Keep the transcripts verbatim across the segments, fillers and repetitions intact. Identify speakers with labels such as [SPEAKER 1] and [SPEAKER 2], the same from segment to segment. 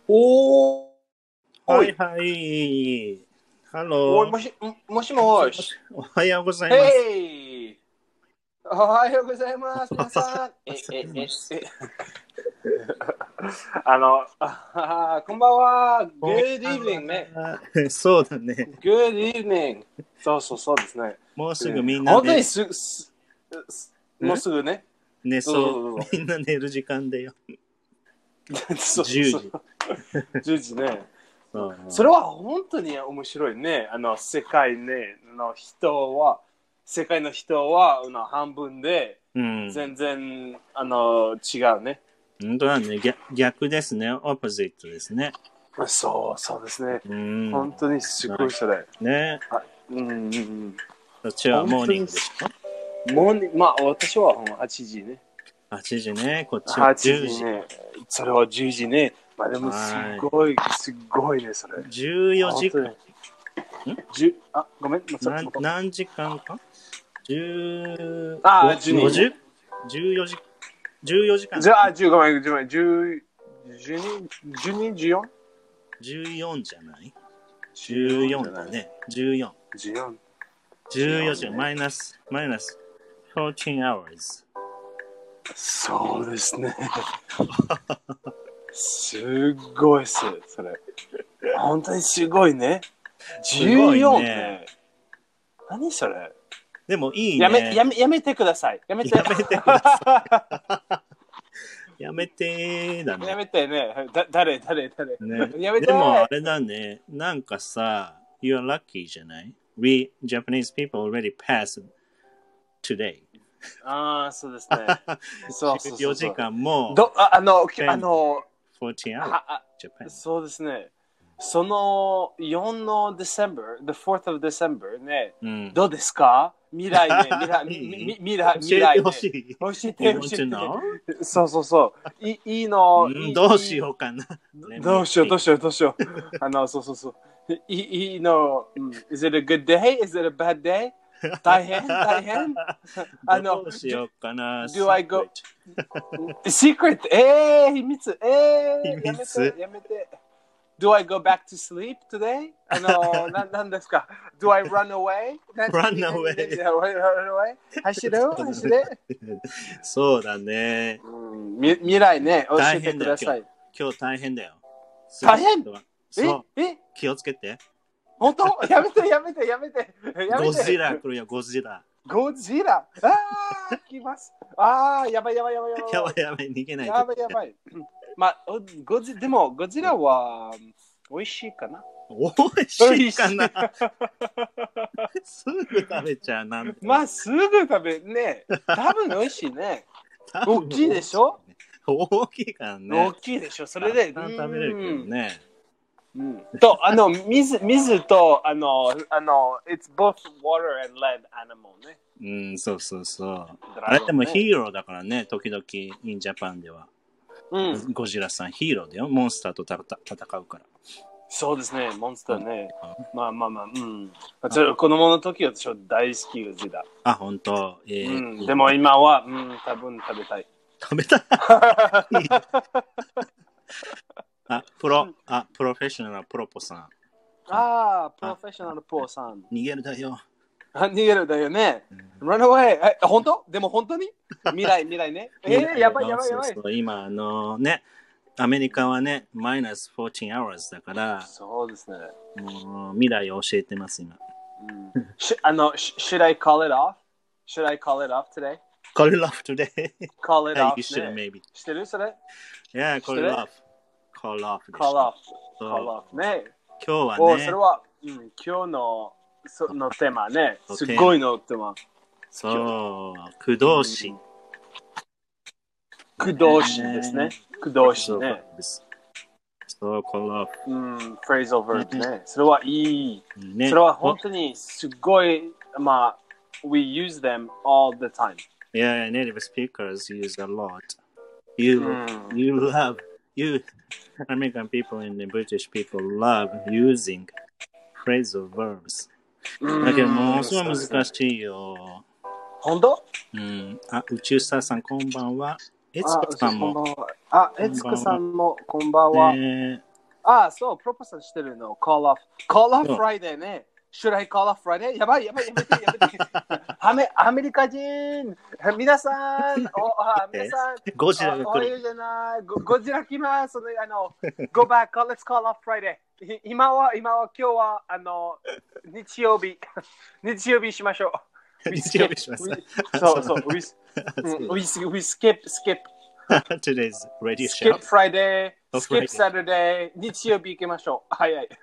[SPEAKER 1] おー、
[SPEAKER 2] はいはい。ハロー。
[SPEAKER 1] おい、もし、もしもし。
[SPEAKER 2] おはようございます。
[SPEAKER 1] へい。おはようございます、皆さん。え、え、え、え。あの、あ、こんばんは。Good evening ね。
[SPEAKER 2] そうだね。
[SPEAKER 1] Good evening。そうそうそうですね。
[SPEAKER 2] もうすぐみんな
[SPEAKER 1] 本当にす、す、もうすぐね。
[SPEAKER 2] ね、そう。みんな寝る時間だよ。じゅうじ。
[SPEAKER 1] じゅうじね。それは本当に面白いね。あの世界ねの人は世界の人はあの半分で全然、うん、あの違うね。
[SPEAKER 2] 本当だね。逆、逆ですね。オポジットですね。
[SPEAKER 1] そうそうですね。うん本当にすごいそれ。
[SPEAKER 2] ね。
[SPEAKER 1] うんうんうん。
[SPEAKER 2] そっちはモーニングでしょ？
[SPEAKER 1] モーニング、まあ私ははちじね。
[SPEAKER 2] はちじね。こっちはじゅうじ
[SPEAKER 1] ね。それはじゅうじね。まあでもすごいすごいねそれ。
[SPEAKER 2] じゅうよじかん。ん？
[SPEAKER 1] あ、ごめん。
[SPEAKER 2] 何何時間か？じゅう、
[SPEAKER 1] あ、じゅうに。
[SPEAKER 2] じゅうよじ、じゅうよじかん。
[SPEAKER 1] じゃあ、じゅうごめん、じゅう、じゅうに、じゅうに、じゅうよん?
[SPEAKER 2] じゅうよんじゃない？ じゅうよんだね。じゅうよん。
[SPEAKER 1] じゅうよん。
[SPEAKER 2] じゅうよじかん、マイナス、マイナスじゅうよん hours。
[SPEAKER 1] そうですね。すごいっす、それ。本当にすごいね。じゅうよんね。何それ？
[SPEAKER 2] でもいいね。
[SPEAKER 1] やめ、やめ、やめてください。やめて。
[SPEAKER 2] やめてください。やめてーだね。
[SPEAKER 1] やめてね。だ、誰、誰、誰。
[SPEAKER 2] ね、
[SPEAKER 1] やめて。
[SPEAKER 2] でもあれだね。なんかさ、you're lucky じゃない？ We Japanese people already passed today.
[SPEAKER 1] ああ、そうですね。そうそうそう。
[SPEAKER 2] よじかんも。
[SPEAKER 1] ど、あ、あの、あの、
[SPEAKER 2] よんじゅう hours.
[SPEAKER 1] そうですね。そのよんの December, the fourth of December ね、うん、どうですか？未来ね、未来、み未来、未来、ね。教えてほしい。教えてほしい。そうそうそう。いいいの、うんいい。
[SPEAKER 2] どうしようかな。
[SPEAKER 1] どうしよう、どうしよう、どうしよう。あの、そうそうそう。いいいの、Is it a good day? Is it a bad day? 大変大変
[SPEAKER 2] あの、どうしようかな。
[SPEAKER 1] Do I go? Secret? えー、秘密。えー、やめて、やめて。Do I go back to sleep today? あの、な、なんですか ?Do I run away?
[SPEAKER 2] Run away.
[SPEAKER 1] Run away? 走る走る
[SPEAKER 2] そうだね。
[SPEAKER 1] み未来ね、教えてください。
[SPEAKER 2] 今日大変だよ。
[SPEAKER 1] 大変
[SPEAKER 2] そう。え気をつけて。
[SPEAKER 1] 本当やめて、やめて、やめて。
[SPEAKER 2] ゴジラ来るよ、ゴジラ。
[SPEAKER 1] ゴジラああ、来ます。ああ、やばいやばいやばいやばい。
[SPEAKER 2] やばいやばい、逃げないと。
[SPEAKER 1] やばいやばい。まあ、ゴジでも、ゴジラは美味しいかな。
[SPEAKER 2] 美味しいかな。すぐ食べちゃうなんて。
[SPEAKER 1] まあ、すぐ食べね。多分美味しいね。大きいでしょ？
[SPEAKER 2] 大きいからね。
[SPEAKER 1] 大きいでしょ。それで。
[SPEAKER 2] 食べれるけどね。
[SPEAKER 1] うん、と、あの、水、水と、あの、あの、it's both water and land animal ね。
[SPEAKER 2] うん、そうそうそう。あれでもヒーローだからね、時々、in Japan では。うん、ゴジラさんヒーローだよ。モンスターと戦うから。
[SPEAKER 1] そうですね、モンスターね。うん、まあまあまあ、うん。子供の時は私は大好きゴジラ。
[SPEAKER 2] あ、本当。えー
[SPEAKER 1] うん、でも今は、うん、多分食べたい。
[SPEAKER 2] 食べたいあ、プロ、あ、プロフェッショナルプロポさん。
[SPEAKER 1] ああ、プロフェッショナルプロさん。
[SPEAKER 2] 逃げるだよ。
[SPEAKER 1] あ、逃げるだよね。うん、Run away! え、本当？でも本当に未来、未来ね。えー、やばいやばいやばい。
[SPEAKER 2] そうそう今、あのね、アメリカはね、マイナスじゅうよん hours だから、
[SPEAKER 1] そうですね。
[SPEAKER 2] もう未来を教えてます、今。
[SPEAKER 1] うん、しあの、should I call it off? Should I call it off today?
[SPEAKER 2] Call it off today.
[SPEAKER 1] Call it off.
[SPEAKER 2] You should, maybe.
[SPEAKER 1] してるそれ
[SPEAKER 2] Yeah, call it off.Call off.
[SPEAKER 1] Call off. Call off. ね。
[SPEAKER 2] 今日はね。
[SPEAKER 1] お、それは、うん、今日のそのテーマね。すごいのテーマ。
[SPEAKER 2] そう、駆動詞。
[SPEAKER 1] 駆動詞ですね。駆動詞ね。
[SPEAKER 2] そう、call off。
[SPEAKER 1] うん、phrasal verbs ね。それはいい。それは本当にすごい、まあ、we use them all the time.
[SPEAKER 2] Yeah, native speakers use a lot. You, you love.You American people and the British people love using phrasal verbs. だけどもうすごい難しいよ。
[SPEAKER 1] 本当？
[SPEAKER 2] うん。あ、宇宙スターさんこんばんは。エツコさんも。
[SPEAKER 1] あ、エツコさんもこんばんは。
[SPEAKER 2] ね、
[SPEAKER 1] ああ、そう、プロポーズしてるの。call off。call off Friday ね。Should I call off Friday? やばいやばいやめてやめて。アメアメリカ人、皆さん、おあ皆さん、
[SPEAKER 2] ゴジラが来る。
[SPEAKER 1] おおいうじゃないゴ、ゴジラ来ます。あの、Go back, let's call off Friday。今は、今は、今日は、あの、日曜日、日曜日しましょう。
[SPEAKER 2] 日曜日します。
[SPEAKER 1] そうそう、we, we, we skip, skip.
[SPEAKER 2] Today's radio show.
[SPEAKER 1] Skip Friday, skip Saturday, 日曜日行きましょう。早い。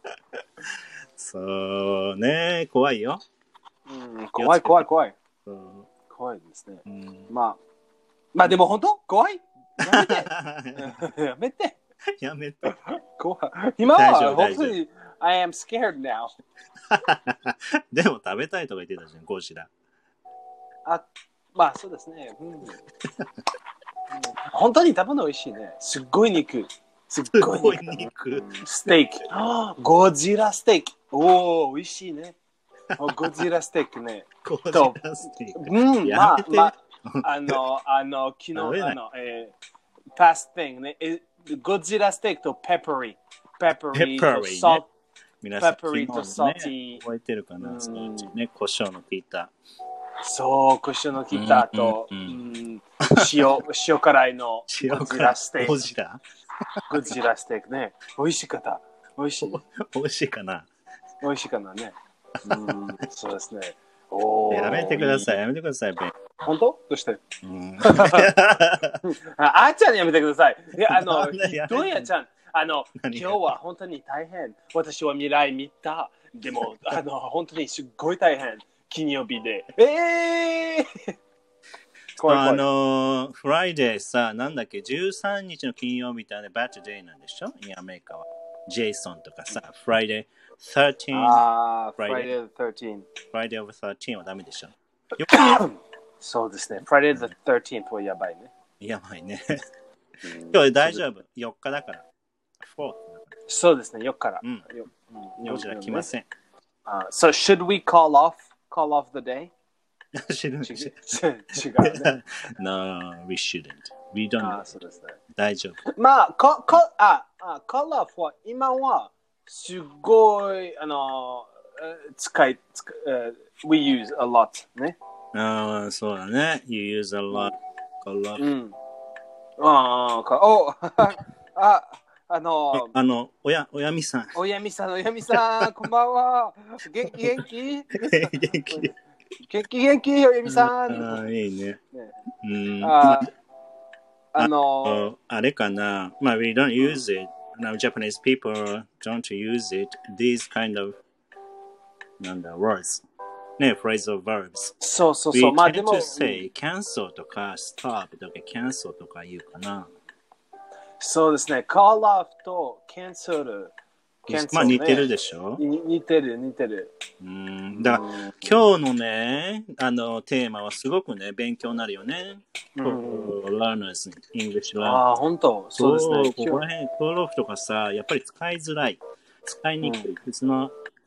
[SPEAKER 2] そうね、怖いよ。
[SPEAKER 1] うん、怖い怖い怖い。うん、怖いですね。うん、まあ、まあでも本当怖いやめてやめて
[SPEAKER 2] やめて
[SPEAKER 1] 怖い。今は本当に I am scared now
[SPEAKER 2] でも食べたいとか言ってたじゃん、ゴジラ。
[SPEAKER 1] あ、まあそうですね。うんうん、本当に食べるの美味しいね。すっごい肉。すっごい肉。ステーキ。ゴジラステーキ。おお、美味しいね。ゴジラステーキね。
[SPEAKER 2] ゴジラステーキ。
[SPEAKER 1] うん、まあ、まあ、あの、あの、昨日、あの、えー、パスティングね。ゴジラステーキとペッパリー。ペッパリーとサルト。
[SPEAKER 2] 皆さん、
[SPEAKER 1] ペッパリーとサルティー。
[SPEAKER 2] 覚えてるかな、そのうちね、胡椒の効いた。
[SPEAKER 1] そう、胡椒の効いたと、塩、塩辛いのゴジラステーキ。
[SPEAKER 2] ゴジラ
[SPEAKER 1] ゴジラステーキね。美味しかった。美味しい。
[SPEAKER 2] 美味しいかな。
[SPEAKER 1] 美味しいかなね。うん、そうですね。お
[SPEAKER 2] やめてください。やめてください、ベン。
[SPEAKER 1] 本当？どうして？うん、あーちゃんにやめてください。いや、あの、どうやちゃん、あの、今日は本当に大変。私は未来見た。でも、あの、本当にすっごい大変。金曜日で。えー
[SPEAKER 2] 怖い怖いあのー、フライデーさ、なんだっけ、じゅうさんにちの金曜日ってバッチデーなんでしょ？アメリカは。ジェイソンとかさ、フライデーじゅうさん。
[SPEAKER 1] ああ、フライデーじゅうさん。
[SPEAKER 2] フライデーオブじゅうさんはダメでしょ？
[SPEAKER 1] そうですね。フライデーじゅうさんはやばいね。
[SPEAKER 2] やばいね。今日大丈夫。よっかだから。
[SPEAKER 1] そうですね、よっかから。
[SPEAKER 2] うん。ゴジラ来ません。
[SPEAKER 1] Uh, so should we call off call off the day?
[SPEAKER 2] 違う
[SPEAKER 1] ね。
[SPEAKER 2] No, we shouldn't. We don't.
[SPEAKER 1] あそうですね。
[SPEAKER 2] 大丈夫。
[SPEAKER 1] まあ、かかああ call off は今はすごいあの使い使い、uh, we use a lot ね。
[SPEAKER 2] ああ、そうだね。You use a lot. Call off.
[SPEAKER 1] うん。ああ、おああの、
[SPEAKER 2] あの、おや、おやみさん。
[SPEAKER 1] おやみさん、おやみさん、こんばんは。元気元気
[SPEAKER 2] 元気
[SPEAKER 1] 元気元気、おやみさん。
[SPEAKER 2] ああ、いいね。
[SPEAKER 1] ね
[SPEAKER 2] うん。
[SPEAKER 1] あ、あの、
[SPEAKER 2] あれかな。まあ、we don't use it. Now, Japanese people don't use it. These kind of, なんだ、words. ね、phrasal verbs.
[SPEAKER 1] そうそうそう。まあ、でも、
[SPEAKER 2] we tend to say cancel とか stop とか cancel とか言うかな。
[SPEAKER 1] そうですね。call off と cancel。
[SPEAKER 2] まあ似てるでしょ？
[SPEAKER 1] 似てる似てる。
[SPEAKER 2] うん。だから今日のね、あのテーマはすごくね勉強になるよね。learners English learners。
[SPEAKER 1] ああ本当。そうですね。
[SPEAKER 2] ここら辺call offとかさ、やっぱり使いづらい、使いにくい。うん、It's not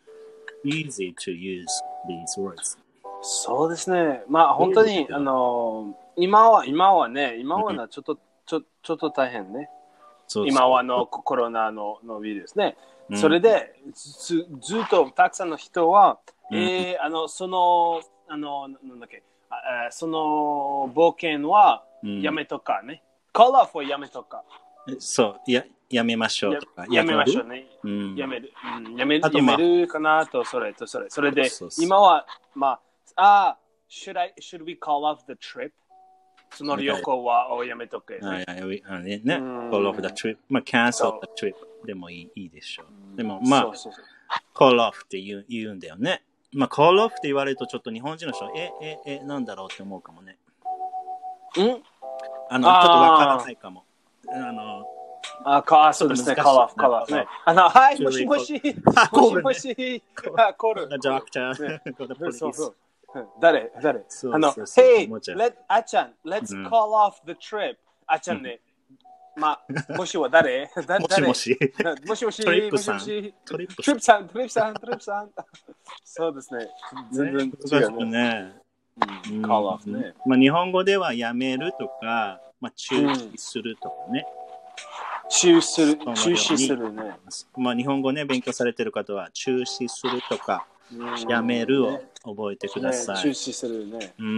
[SPEAKER 2] easy to use these words。
[SPEAKER 1] そうですね。まあ本当にあの今は今はね、今はなちょっと、うん、ちょちょっと大変ね。そうそう今はのコロナののウイルスね。それでずずっとたくさんの人は、うん、えー、あのそのあのなんだっけあその冒険はやめとかね。うん、call off はやめとか。
[SPEAKER 2] そうややめましょうとか。
[SPEAKER 1] や, やめましょうね。うん、やめる、うん、やめる、まあ、やめるかなとそれとそれそれでそうそうそう今はまああ should I should we call off the trip?その旅行はおやめとけ、ね。
[SPEAKER 2] はいはい、あれね。call off the trip。まあ、cancel the trip でもいい、いいでしょう。でも、まあ、そうそうそう call off って言う、言うんだよね。まあ、call off って言われるとちょっと日本人の人、え、え、え、なんだろうって思うかもね。
[SPEAKER 1] んあの、ちょっ
[SPEAKER 2] とわからないかも。あの、
[SPEAKER 1] あ、か、そうですね、call off、call off ね。あの、はい、もしもし、もしもし、コール。
[SPEAKER 2] doctor、
[SPEAKER 1] そうそう。誰誰あの、Hey, let あちゃん、let's call off the trip. あちゃんね、まあ、もしは誰誰
[SPEAKER 2] もしもし。
[SPEAKER 1] もしもし、
[SPEAKER 2] トリップさん。
[SPEAKER 1] トリップさん、トリップさん、トリップさん。そうですね。全然違うね。call off ね。
[SPEAKER 2] まあ、日本語ではやめるとか、まあ、中止するとかね。
[SPEAKER 1] 中止する、中止するね。
[SPEAKER 2] まあ日本語ね、勉強されてる方は、中止するとか、やめるを覚えてください。
[SPEAKER 1] ね、中止するね。
[SPEAKER 2] うん。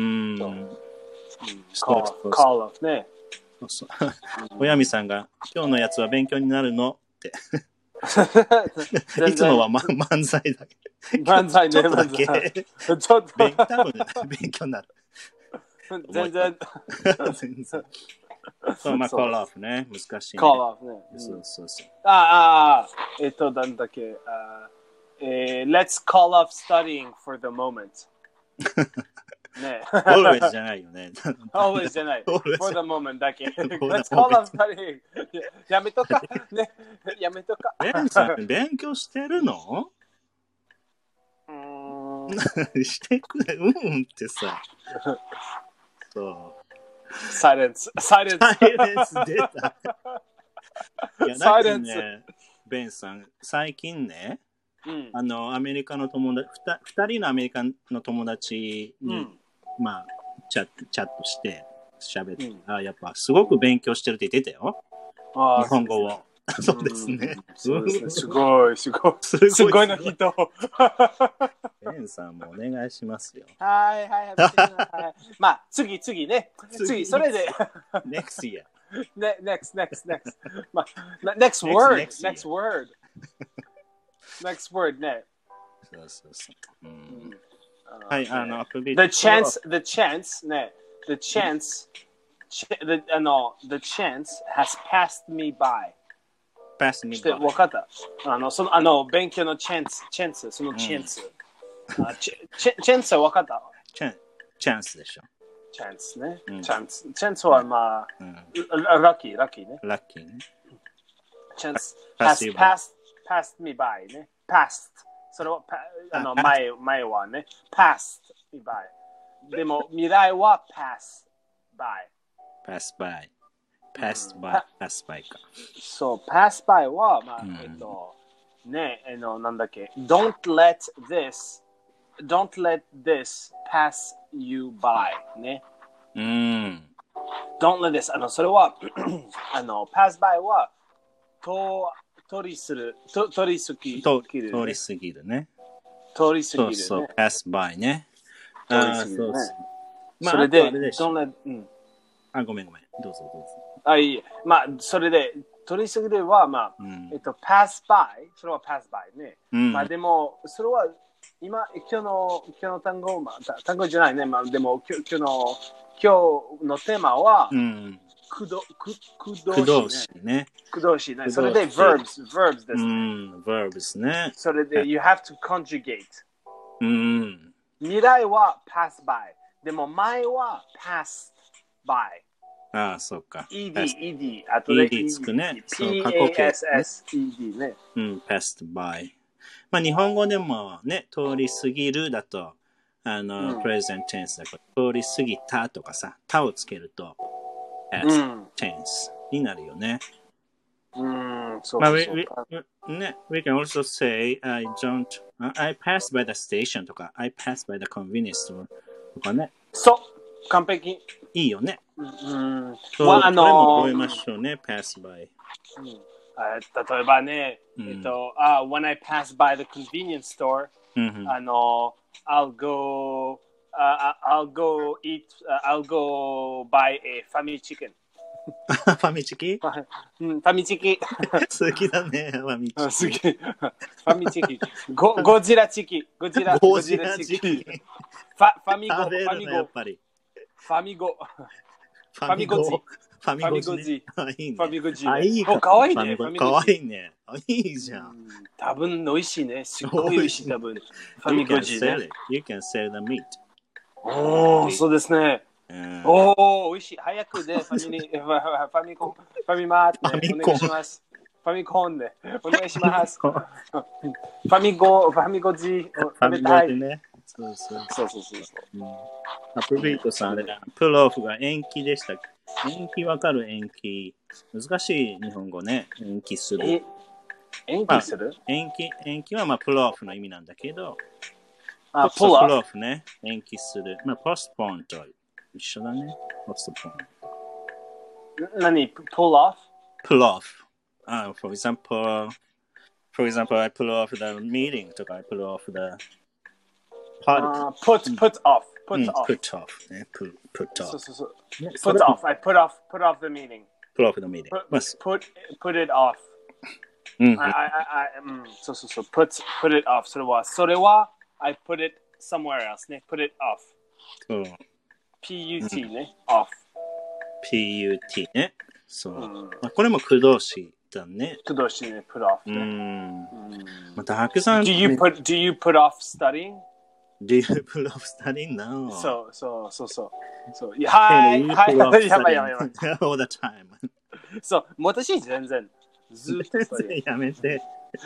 [SPEAKER 1] call off ね。
[SPEAKER 2] そうそう。おやみさんが、今日のやつは勉強になるのって。いつもは、ま、漫才だけ。
[SPEAKER 1] 漫才ね、
[SPEAKER 2] ちょっとだけ。
[SPEAKER 1] ちょっと。
[SPEAKER 2] 多分勉強になる。
[SPEAKER 1] 全然。
[SPEAKER 2] 全然。そう、まあ、call off ね。難しい、ね。
[SPEAKER 1] call off ね。
[SPEAKER 2] そうそうそう。
[SPEAKER 1] ああ、あえっと、なんだっけ。あえー、let's call off studying for the moment. ね。
[SPEAKER 2] always じゃないよね。
[SPEAKER 1] always じゃない。for the moment だけ。let's call off studying. やめとか。ね。やめとか。
[SPEAKER 2] ベンさん、勉強してるの
[SPEAKER 1] うー
[SPEAKER 2] ん。してくれ、うんってさ。そう。
[SPEAKER 1] サイレンス。サイレンス。
[SPEAKER 2] サイレンス出た。いや、
[SPEAKER 1] サイレンス。
[SPEAKER 2] ね、ベンさん、最近ね、
[SPEAKER 1] うん、
[SPEAKER 2] あの、アメリカの友達、ふたりのアメリカの友達に、うん、まあ、チャット、チャットして、喋って、うん、あ、やっぱすごく勉強してるって言ってたよ。あ日本語を。そうですね。
[SPEAKER 1] すごい、すごい。すごいの人。
[SPEAKER 2] ベンさんもお願いしますよ。
[SPEAKER 1] はいはいはい。まあ、次、次ね。次、それで。
[SPEAKER 2] next year.
[SPEAKER 1] next, next, next. まあ、next word. Next word. Next word ね。
[SPEAKER 2] そうそうそう。うん、はい、あの、
[SPEAKER 1] the chance, the chance ね。the chance, the, あの、the chance has passed me by.Pass me by. 分かった。あの、その、あの、勉強のチャンス、チャンス、そのチャンス。うん、あチェチャンスは分かった
[SPEAKER 2] チャンチャンスでしょ。
[SPEAKER 1] チャンスね。うん、チャンス。チャンスはまあ、うん、ラッキー、ラッキーね。
[SPEAKER 2] ラッキーね。
[SPEAKER 1] チャンス has passed, passed me by ね。passed。それは、あの、前、前はね。passed me by。でも、未来は pass
[SPEAKER 2] by。pass by。pass by、pass by か。
[SPEAKER 1] そう、pass by は、まあ、うん、えっと、ね、あの、なんだっけ、don't let this, don't let this pass you by ね。
[SPEAKER 2] うん。
[SPEAKER 1] don't let this, あの、それは、あの、pass by は、と、通りする、と通り過ぎ
[SPEAKER 2] る、ね。通り過ぎるね。
[SPEAKER 1] 通り過ぎるね。
[SPEAKER 2] そうそう、pass by ね。
[SPEAKER 1] 通り過ぎるね。
[SPEAKER 2] まあ、
[SPEAKER 1] それで、
[SPEAKER 2] don't
[SPEAKER 1] let, うん。
[SPEAKER 2] あ、ごめんごめん。どうぞどうぞ。
[SPEAKER 1] あ、いい。まあ、それで、取り過ぎるは、まあ、うん、えっと、pass by、それは pass by ね。うん、まあ、でも、それは、今、今日の、今日の単語、まあ、単語じゃないね。まあ、でも、今日の、今日のテーマは、うん、くど、く、くどしね。くどしね。それで、verbs、verbs ですね。うん、
[SPEAKER 2] verbs ね。
[SPEAKER 1] それで、you have to conjugate。
[SPEAKER 2] うん。
[SPEAKER 1] 未来は pass by。でも、前は pass by。
[SPEAKER 2] ああ、そうか。
[SPEAKER 1] ed、ed、あとで
[SPEAKER 2] ed つくね。
[SPEAKER 1] そう、過去形。ed ね。
[SPEAKER 2] うん、passed by。まあ、日本語でもね、通り過ぎるだと、あの、うん、present tense だから、通り過ぎたとかさ、たをつけると、past tense になるよね。
[SPEAKER 1] うん、そうそうそう。
[SPEAKER 2] まあ、we, we, ね、we can also say, I don't, I pass by the station とか、I pass by the convenience store とかね。
[SPEAKER 1] そう、完璧。
[SPEAKER 2] いいよね。
[SPEAKER 1] うん。
[SPEAKER 2] そう、あのー、これも覚えましょうね、pass by。
[SPEAKER 1] うん、例えばね、うん、えっと、uh, when I pass by the convenience store、うん、あの、I'll go, uh, I'll go eat, uh, I'll go buy a ファミチキン。
[SPEAKER 2] ファミチキ
[SPEAKER 1] うん、ファミチキ。
[SPEAKER 2] 好きだね、ファミチキ。
[SPEAKER 1] 好き。ファミチキ。ゴゴジラチキ。ゴジラ、
[SPEAKER 2] ゴジラチキ。
[SPEAKER 1] ファファミゴ、ファミゴ。
[SPEAKER 2] やっぱり。
[SPEAKER 1] ファミゴ。
[SPEAKER 2] ファミゴジ。
[SPEAKER 1] ファミゴジ。
[SPEAKER 2] フ
[SPEAKER 1] ァミゴジ。
[SPEAKER 2] あ、いい
[SPEAKER 1] か。かわいいね。
[SPEAKER 2] かわいいね。いいじゃん。
[SPEAKER 1] 多分美味しいね。すごい美味しい、多分。ファミゴジね。
[SPEAKER 2] You can sell the meat.
[SPEAKER 1] おー、そうですね。おー、美味しい。早くで、ファミリー、ファミコン、ファミマーってお願いします。ファミコンで、お願いします。ファミゴ、ファミゴジ、食べたい。
[SPEAKER 2] ね。そうそう
[SPEAKER 1] そうそうそう。
[SPEAKER 2] アプビートさん、あれだ。プロフが延期でした。延期わかる延期。難しい日本語ね。延期する。
[SPEAKER 1] 延期する、
[SPEAKER 2] まあ、延期、延期はまあプロフの意味なんだけど、
[SPEAKER 1] あ、
[SPEAKER 2] プロフね。延期する。まあ、ポストポンと一緒だね。ポストポン。
[SPEAKER 1] 何 pull off?
[SPEAKER 2] pull off. uh, for example, for example, I pull off the meeting とか I pull off the
[SPEAKER 1] party.、Uh, put, put off. Put、うん、
[SPEAKER 2] off. Put off. ね、put, put off.
[SPEAKER 1] そうそうそう。Put off. I put off, put off the meeting.
[SPEAKER 2] Put off the meeting.
[SPEAKER 1] Put, put, put it off.
[SPEAKER 2] うん、
[SPEAKER 1] I, I, I, うん、そうそうそう。Put, put it off. それは、それは、I put it somewhere else ね。Put it off.
[SPEAKER 2] そう。
[SPEAKER 1] P-U-T ね。off.
[SPEAKER 2] P-U-T ね。そう。うん、まあ、これも駆動詞だね。
[SPEAKER 1] 駆動詞ね。put off ね。
[SPEAKER 2] うん。まあ、たくさん。
[SPEAKER 1] Do you put, do you put off studying?Do
[SPEAKER 2] you put off studying? No.
[SPEAKER 1] そうそうそうそう。そういやはいはい。やばいやばいやばい。
[SPEAKER 2] all the time.
[SPEAKER 1] そう、私全然。ずっとそ
[SPEAKER 2] れ。やめて。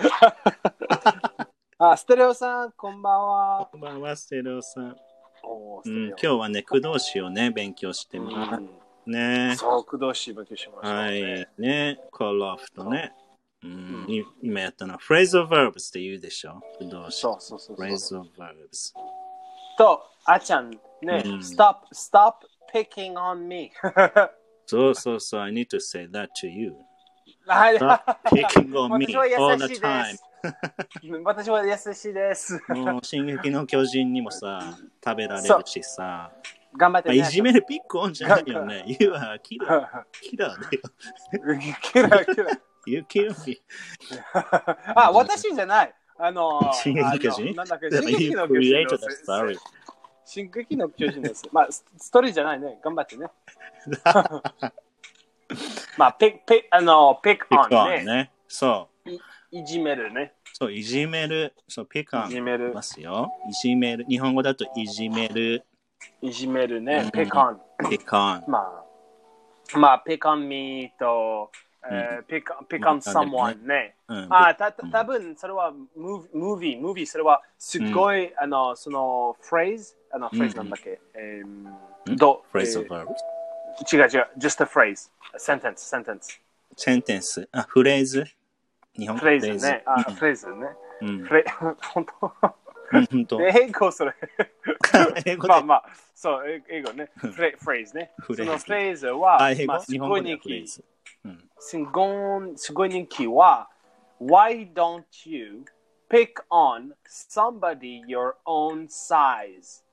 [SPEAKER 1] あ、ステレオさん、こんばんは。
[SPEAKER 2] こんばんは、ステレオさん。
[SPEAKER 1] おー、
[SPEAKER 2] うん、今日はね、駆動詞をね、勉強してます。うんね、
[SPEAKER 1] そう、駆動詞勉強しました、ね。
[SPEAKER 2] はい。ね、call off とね。うん、うん、今やったのは phrasal verbs って言うでしょ。駆動詞。
[SPEAKER 1] そうそうそうそう。
[SPEAKER 2] phrasal verbs。
[SPEAKER 1] と、あちゃん、ね、うん、stop, stop picking on me.
[SPEAKER 2] そうそうそう、I need to say that to you. Stop picking on me all the time.
[SPEAKER 1] 私は優しいです。
[SPEAKER 2] もう、進撃の巨人にもさ、食べられるしさ。
[SPEAKER 1] 頑張ってね。
[SPEAKER 2] いじめるピックオンじゃないよね。You are killer. Killer だよ。
[SPEAKER 1] Killer, killer.
[SPEAKER 2] You kill me.
[SPEAKER 1] あ、私じゃない。あの、
[SPEAKER 2] 進撃の巨人
[SPEAKER 1] なんだっけ、進撃の巨人です。進撃の巨人です。まあ、ストーリーじゃないね。頑張ってね。まあ、ピック、ピック、あの、ピックオンね。
[SPEAKER 2] そう。
[SPEAKER 1] いじめるね。
[SPEAKER 2] そう、いじめる。そう、ピックオン。
[SPEAKER 1] いじめる。
[SPEAKER 2] ますよ。いじめる。日本語だといじめる。
[SPEAKER 1] いじめるね。ピックオン。
[SPEAKER 2] ピックオン。
[SPEAKER 1] まあ、まあ、ピックオンミーと、ピックオン、ピックオン someone ね。あ、た、たぶん、それは、ムービー、ムービー、それは、すごい、あの、その、フレーズ、あの、フレーズなんだっけ。えー、ど、
[SPEAKER 2] フレーズ of verbs。
[SPEAKER 1] 違う違う、just a phrase。sentence、sentence。
[SPEAKER 2] センテンス。あ、フレーズ。日本語
[SPEAKER 1] フレーズね。あ、フレーズね。フレ、本当
[SPEAKER 2] 本当
[SPEAKER 1] 英語それ。
[SPEAKER 2] 英語
[SPEAKER 1] まあまあ、そう、英語ね。フレーズね。そのフレーズは、まあ、すごい人気。すごい、すごい人気は、Why don't you pick on somebody your own size?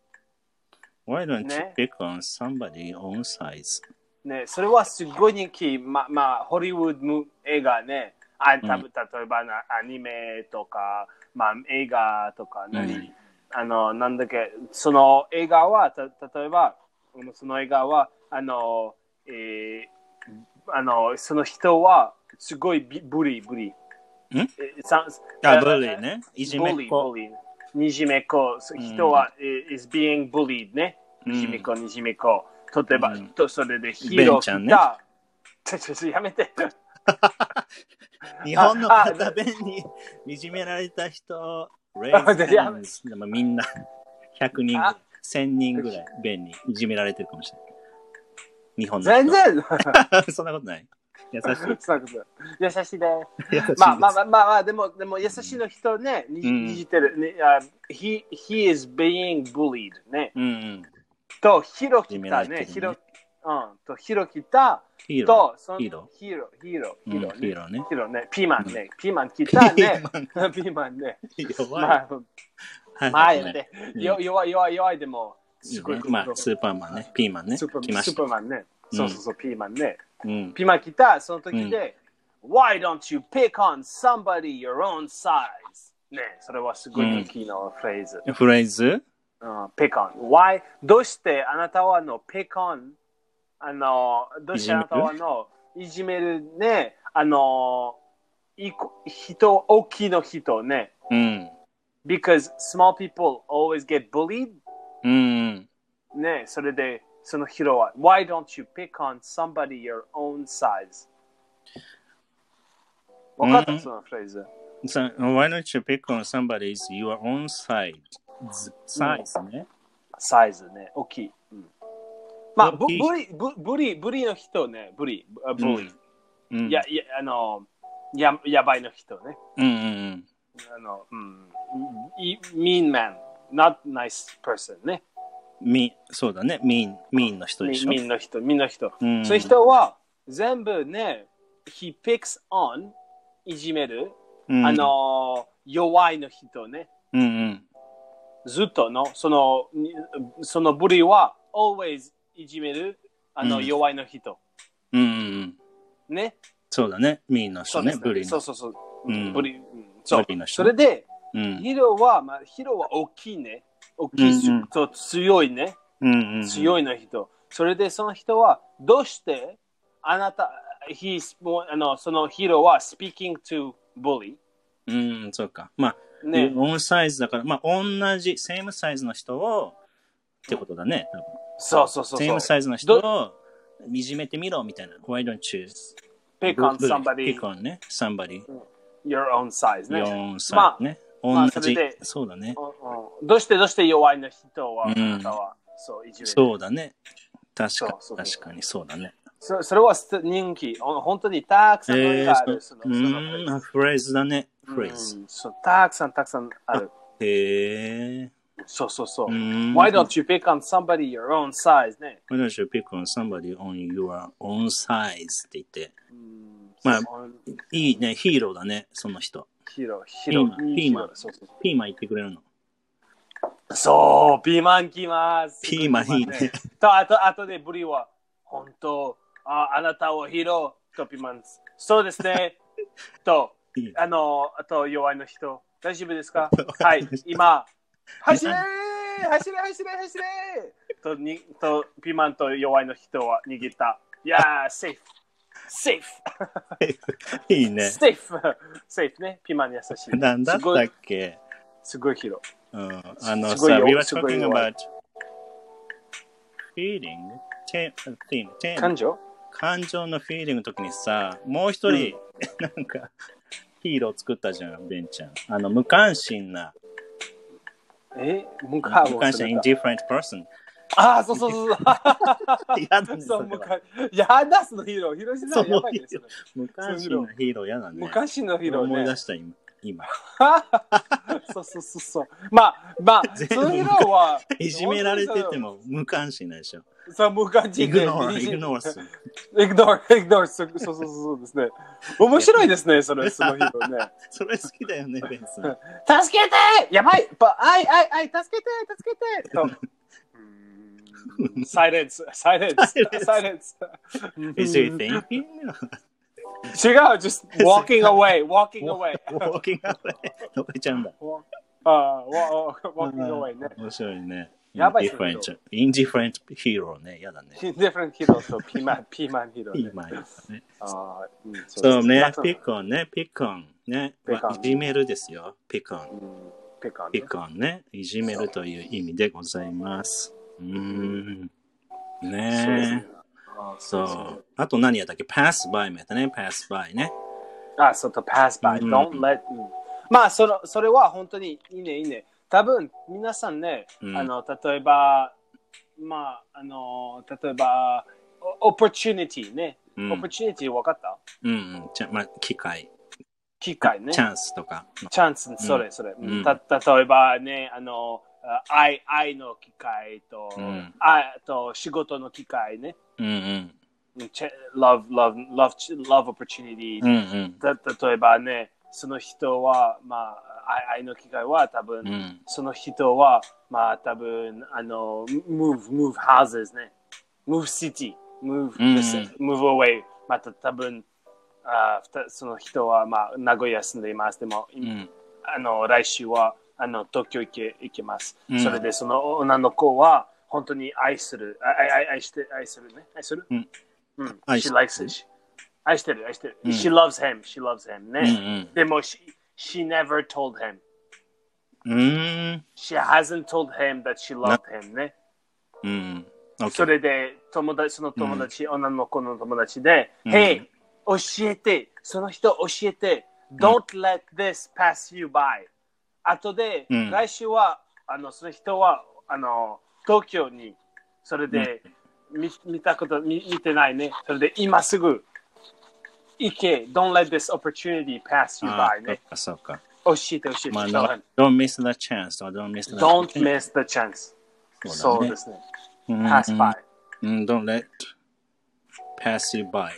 [SPEAKER 2] Why don't you pick on somebody your own size?
[SPEAKER 1] ね、それはすごい人気。ま、まあ、ホリウッド映画ね。あ、たぶん、例えばな、アニメとか、まあ、映画とかね、うん、あの、なんだっけ、その映画は、た、例えば、その映画は、あの、えー、あの、その人は、すごいブリ、ブリ。
[SPEAKER 2] んあ、ブリね。いじめっ子。
[SPEAKER 1] いじめっ子。人は、うん、is being bullied ね。いじめっ子、いじめっ子。例えば、うん、とそれでヒーロー来た。ね、ちょ、ちょ、ちょ、やめて。
[SPEAKER 2] 日本の方弁にいじめられた人、レイズでもみんなひゃくにんぐらい、せんにんぐらい弁にいじめられてるかもしれない。日本の人。
[SPEAKER 1] 全然
[SPEAKER 2] そんなことない。優しい。
[SPEAKER 1] 優しいで。まあまあまあまあ、でも、でも優しいの人ね、にじてる。ね、he, he is being bullied ね。
[SPEAKER 2] うんうん、
[SPEAKER 1] と、ヒロキタね。ヒロ、うん、と、ヒロキタ。
[SPEAKER 2] ヒー
[SPEAKER 1] ロ
[SPEAKER 2] ー。
[SPEAKER 1] ヒーロー。ヒーロー。ヒーロー。ヒーロー、
[SPEAKER 2] ヒーローね。
[SPEAKER 1] ヒーローね。ピーマンね。ピーマン来たね。ピーマンね。
[SPEAKER 2] 弱い。
[SPEAKER 1] まあ、まあ、やめて。弱い、弱い、弱いでも、
[SPEAKER 2] すごい。まあ、スーパーマンね。ピーマンね。
[SPEAKER 1] スーパーマンね。そうそうそう、ピーマンね。
[SPEAKER 2] うん、
[SPEAKER 1] ピーマン来た、その時で、うん、Why don't you pick on somebody your own size? ね、それはすごい人気のフレーズ。
[SPEAKER 2] うん、フレーズ、
[SPEAKER 1] うん、pick on. Why? どうしてあなたはの pick on? あの、どうしてあなたはのいじめるね、あの、い人、大きいの人ね。
[SPEAKER 2] うん。
[SPEAKER 1] Because small people always get bullied.
[SPEAKER 2] うん。
[SPEAKER 1] ね、それで、その人は Why don't you pick on somebody your own size? わかった、うん、そのフレーズ。
[SPEAKER 2] So, why don't you pick on somebody's your own size? サイズね。
[SPEAKER 1] サイズね、大きい。うん、まあ、ブリ、ブブリ、ブリの人ね、ブリ、ブリ。うん、や、や、あの、や、やばいの人ね。
[SPEAKER 2] うんうんうん。
[SPEAKER 1] あの、うん。mean man, not nice person ね。
[SPEAKER 2] み、そうだね。ミン、ミンの人でしょ。
[SPEAKER 1] ミンの人、ミンの人。うん、そういう人は全部ね、 he picks on いじめる、
[SPEAKER 2] うん、
[SPEAKER 1] あの弱いの人ね。
[SPEAKER 2] うんうん、
[SPEAKER 1] ずっとのそのその部類は always いじめるあの、うん、弱いの人。
[SPEAKER 2] うんうんうん、
[SPEAKER 1] ね。
[SPEAKER 2] そうだね。ミーの人ね。
[SPEAKER 1] そう
[SPEAKER 2] ブリの。
[SPEAKER 1] そうそうそう。
[SPEAKER 2] うん、
[SPEAKER 1] ブリ、うん、そう。
[SPEAKER 2] ブリの人
[SPEAKER 1] それで、
[SPEAKER 2] うん、
[SPEAKER 1] ヒロはまあヒロは大きいね。大きい、うんうん、そう強いね、
[SPEAKER 2] うんうんうん。強
[SPEAKER 1] いの人。それでその人はどうしてあなた、he's あのそのヒロは speaking to bully。
[SPEAKER 2] うん、そうか。まあ、ね、オンサイズだから、まあ、同じ、セームサイズの人を、ってことだね、多分。
[SPEAKER 1] そうそうそうそう。
[SPEAKER 2] セームサイズの人を、いじめてみろ、みたいな。Why don't you
[SPEAKER 1] pick on somebody?
[SPEAKER 2] Pick on ね、somebody.
[SPEAKER 1] Your own size ね。
[SPEAKER 2] your own size ね。まあ、同じ、まあ、そそうだね、
[SPEAKER 1] うんうん。どうしてどうして弱いの人は、うん、あなたは、そう、いじめる。
[SPEAKER 2] そうだね。確かそうそうそう確かにそうだね。
[SPEAKER 1] そ, それは人気。本当にたくさんのがある。えー、その
[SPEAKER 2] うん、フレーズだね。フレーズ。
[SPEAKER 1] そう、たくさんたくさんある。
[SPEAKER 2] へえ。
[SPEAKER 1] そうそうそう。Why don't you pick on somebody your own size ね。
[SPEAKER 2] Why don't you pick on somebody on your own size って言って。まあ、いいね。ヒーローだね。その人。
[SPEAKER 1] ヒーロー、ヒーロー。
[SPEAKER 2] ピーマン。ピーマン言ってくれるの。
[SPEAKER 1] そう、ピーマン来ます。
[SPEAKER 2] ピーマンいいね。
[SPEAKER 1] と、あと、あとでブリは、本当、あ、あなたはヒーロー、とピーマン。そうですね。と、あの、あと弱いの人、大丈夫ですかはい、今、走れー走れ走れ走れとにと、ピーマンと弱いの人は逃げた。いやー、セーフ。セー
[SPEAKER 2] フ。いいね。
[SPEAKER 1] セーフ。セーフね。ピーマン優しい。
[SPEAKER 2] なんだったっけ
[SPEAKER 1] すごいヒーロー。
[SPEAKER 2] うん、あのさ、we were talking about feeling, theme,
[SPEAKER 1] 感情
[SPEAKER 2] 感情のフィーリングの時にさ、もう一人、うん、なんか、ヒーロー作ったじゃん、ベンちゃん。あの、無関心な。
[SPEAKER 1] え無関心。
[SPEAKER 2] 無関心な indifferent person。
[SPEAKER 1] ああ、そうそうそうそう。
[SPEAKER 2] やだね。
[SPEAKER 1] そう、無関やだ、そのヒーロー。ヒロシさんやばいです。
[SPEAKER 2] 無関心なヒーローやだね。
[SPEAKER 1] 無関心のヒーローね。
[SPEAKER 2] 思い出した今。今
[SPEAKER 1] そうそうそうそう。まあ、まあ、そのヒーローは。
[SPEAKER 2] いじめられてても無関心なんでしょ。
[SPEAKER 1] そう、無関心で。
[SPEAKER 2] イグノー、イグノーす。
[SPEAKER 1] イグノー、イグノー、そうそうそうですね。面白いですね、それ、そのヒーローね。
[SPEAKER 2] それ好きだよね、ベンス。
[SPEAKER 1] 助けてやばいあいあいあい、助けて助けてと。サイレンス、サイレンス、サイレンス。
[SPEAKER 2] Is he thinking?
[SPEAKER 1] 違う、just walking away, walking away.
[SPEAKER 2] walking away. どこ行っちゃうんだ。
[SPEAKER 1] ああ、walking away ね。
[SPEAKER 2] 面白いね。
[SPEAKER 1] やばい。
[SPEAKER 2] indifferent hero ね。やだね。
[SPEAKER 1] indifferent hero とピーマン、ピーマンヒーロー。
[SPEAKER 2] ピーマンね。
[SPEAKER 1] ああ、
[SPEAKER 2] そうね、ピックオンね、ピックオンね。いじめるですよ、ピックオン。ピックオンね。いじめるという意味でございます。うーん。ねえ。そう。あと何やったっけ ?pass by もやったね。pass by ね。
[SPEAKER 1] あ、そうと pass by。don't let。まあ、その、それは本当にいいね、いいね。多分、皆さんね、あの、例えば、まあ、あの、例えば、opportunity ね。opportunity 分かった
[SPEAKER 2] うんうん。まあ、機会。
[SPEAKER 1] 機会ね。
[SPEAKER 2] チャンスとか。
[SPEAKER 1] チャンス、それ、それ。た、例えばね、あの、愛、愛の機会と、愛と仕事の機会ね。
[SPEAKER 2] うんうん。
[SPEAKER 1] love, love, love, love opportunity、うんうん、例えばね、その人は、まあ、愛の機会は多分、うん、その人は、まあ、多分、あの、move, move houses ね。move city, move, うん、move away。また多分、あその人は、まあ、名古屋住んでいます。でも、うん、あの、来週は、あの、東京行け、行けます。うん、それで、その女の子は、本当に愛する、愛、愛、愛して、愛するね。愛する、うんうん、she likes it. 愛してる、愛してる。うん、she loves him, she loves him ね。うんうん、でも、she, she never told him.
[SPEAKER 2] うん、
[SPEAKER 1] she hasn't told him that she loved him ね。
[SPEAKER 2] うん、okay.
[SPEAKER 1] それで、友達、その友達、うん、女の子の友達で、うん、Hey, 教えて、その人教えて、Don't、うん、let this pass you by. 後で、うん、来週は、あの、その人は、あの、東京に、それで、うん見, 見たこと見、見てないね。それで今すぐ行け。Don't let this opportunity pass you by ね。
[SPEAKER 2] そうか。
[SPEAKER 1] 教えて教えて。
[SPEAKER 2] まあ、no, don't miss the chance. Don't miss the
[SPEAKER 1] Don't miss the chance. そうですね。pass by.
[SPEAKER 2] Don't let pass you by.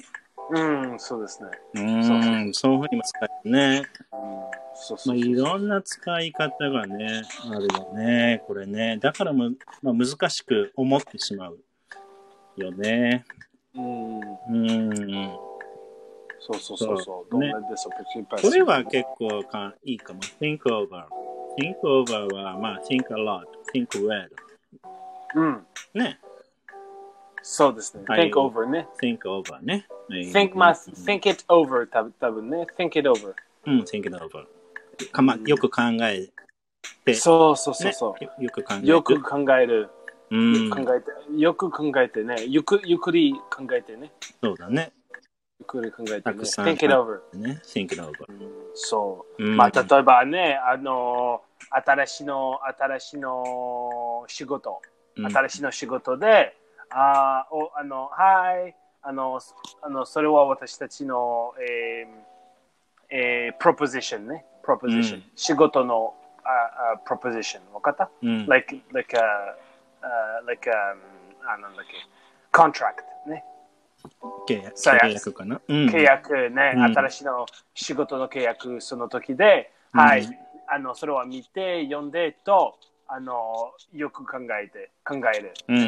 [SPEAKER 1] うん、そうですね。
[SPEAKER 2] うーん、そういうふうにも使えるね。
[SPEAKER 1] そうそうそうそう。
[SPEAKER 2] まあ、いろんな使い方がね、あるよね、これね。だからも、まあ、難しく思ってしまうよね。
[SPEAKER 1] うん。
[SPEAKER 2] うーん。
[SPEAKER 1] そうそうそうそう。
[SPEAKER 2] ね。これは結構かいいかも。think over。think over は、まあ、think a lot。think well。
[SPEAKER 1] うん。
[SPEAKER 2] ね。
[SPEAKER 1] そうですね。think over ね。
[SPEAKER 2] think over ね。
[SPEAKER 1] think, まあ、think it over たぶんね。think it over。
[SPEAKER 2] うん、think it over。かま、よく考えて。
[SPEAKER 1] そうそうそうそう。
[SPEAKER 2] ね、よく考える。
[SPEAKER 1] よく考える。
[SPEAKER 2] うん。
[SPEAKER 1] 考えて、よく考えてね。ゆく、ゆっくり考えてね。
[SPEAKER 2] そうだね。
[SPEAKER 1] ゆっくり考えてね。
[SPEAKER 2] think
[SPEAKER 1] it over。
[SPEAKER 2] ね。think it over。
[SPEAKER 1] そう。まあ、例えばね、あの、新しいの、新しいの仕事。新しいの仕事で、あおあの、はい、あの、あのそれは私たちの、えーえー、プロポジションね。プロポジション。仕事の、あ、プロポジション。わかった、
[SPEAKER 2] うん、
[SPEAKER 1] ?like, like, a, uh, like, a, あ、なんだっけ、contract ね。
[SPEAKER 2] 契約、契約かな、うん、
[SPEAKER 1] 契約ね、うん、新しいの仕事の契約その時で、うん、はい、あの、それは見て、読んでと、あの、よく考えて、考える。
[SPEAKER 2] うん、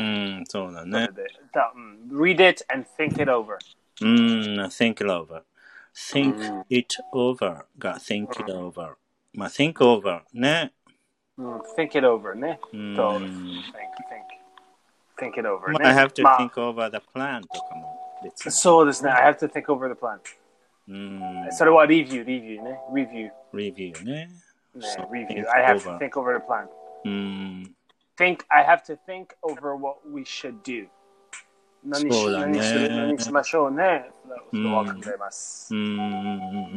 [SPEAKER 2] そうだね。
[SPEAKER 1] だ、うん、read it and think it over。
[SPEAKER 2] うん、think it over。think it over が think it over。まあ、think over ね。
[SPEAKER 1] うん、think it over ね。
[SPEAKER 2] うん。
[SPEAKER 1] と、think, think, think it over ね。
[SPEAKER 2] まあ、I have to think over the plan とかも別に。
[SPEAKER 1] そうですね。I have to think over the plan。
[SPEAKER 2] うん。
[SPEAKER 1] それは review、review ね。review。
[SPEAKER 2] review ね。
[SPEAKER 1] ね、review. I have to think over the plan.
[SPEAKER 2] うん。
[SPEAKER 1] think, I have to think over what we should do. 何し、ね、何する何しましょうね。それは考えます。
[SPEAKER 2] うん。うん。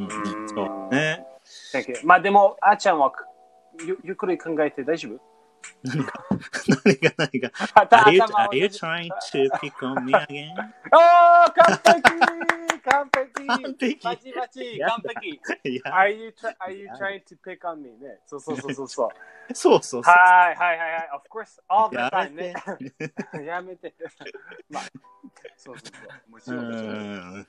[SPEAKER 2] そうね。
[SPEAKER 1] まあでも、あーちゃんはゆゆっくり考えて大丈夫？
[SPEAKER 2] 何が何が何が are, you, are you trying to pick on me again?
[SPEAKER 1] おー、完璧完璧
[SPEAKER 2] 完璧
[SPEAKER 1] バチバチ完璧 are you, are you trying to pick on me? ね。そうそうそうそうそう。
[SPEAKER 2] そうそうそう。
[SPEAKER 1] はいはいはいはい。Of course, all the time ね。やめて。まあ、そうそうそう。もちろんもちろん。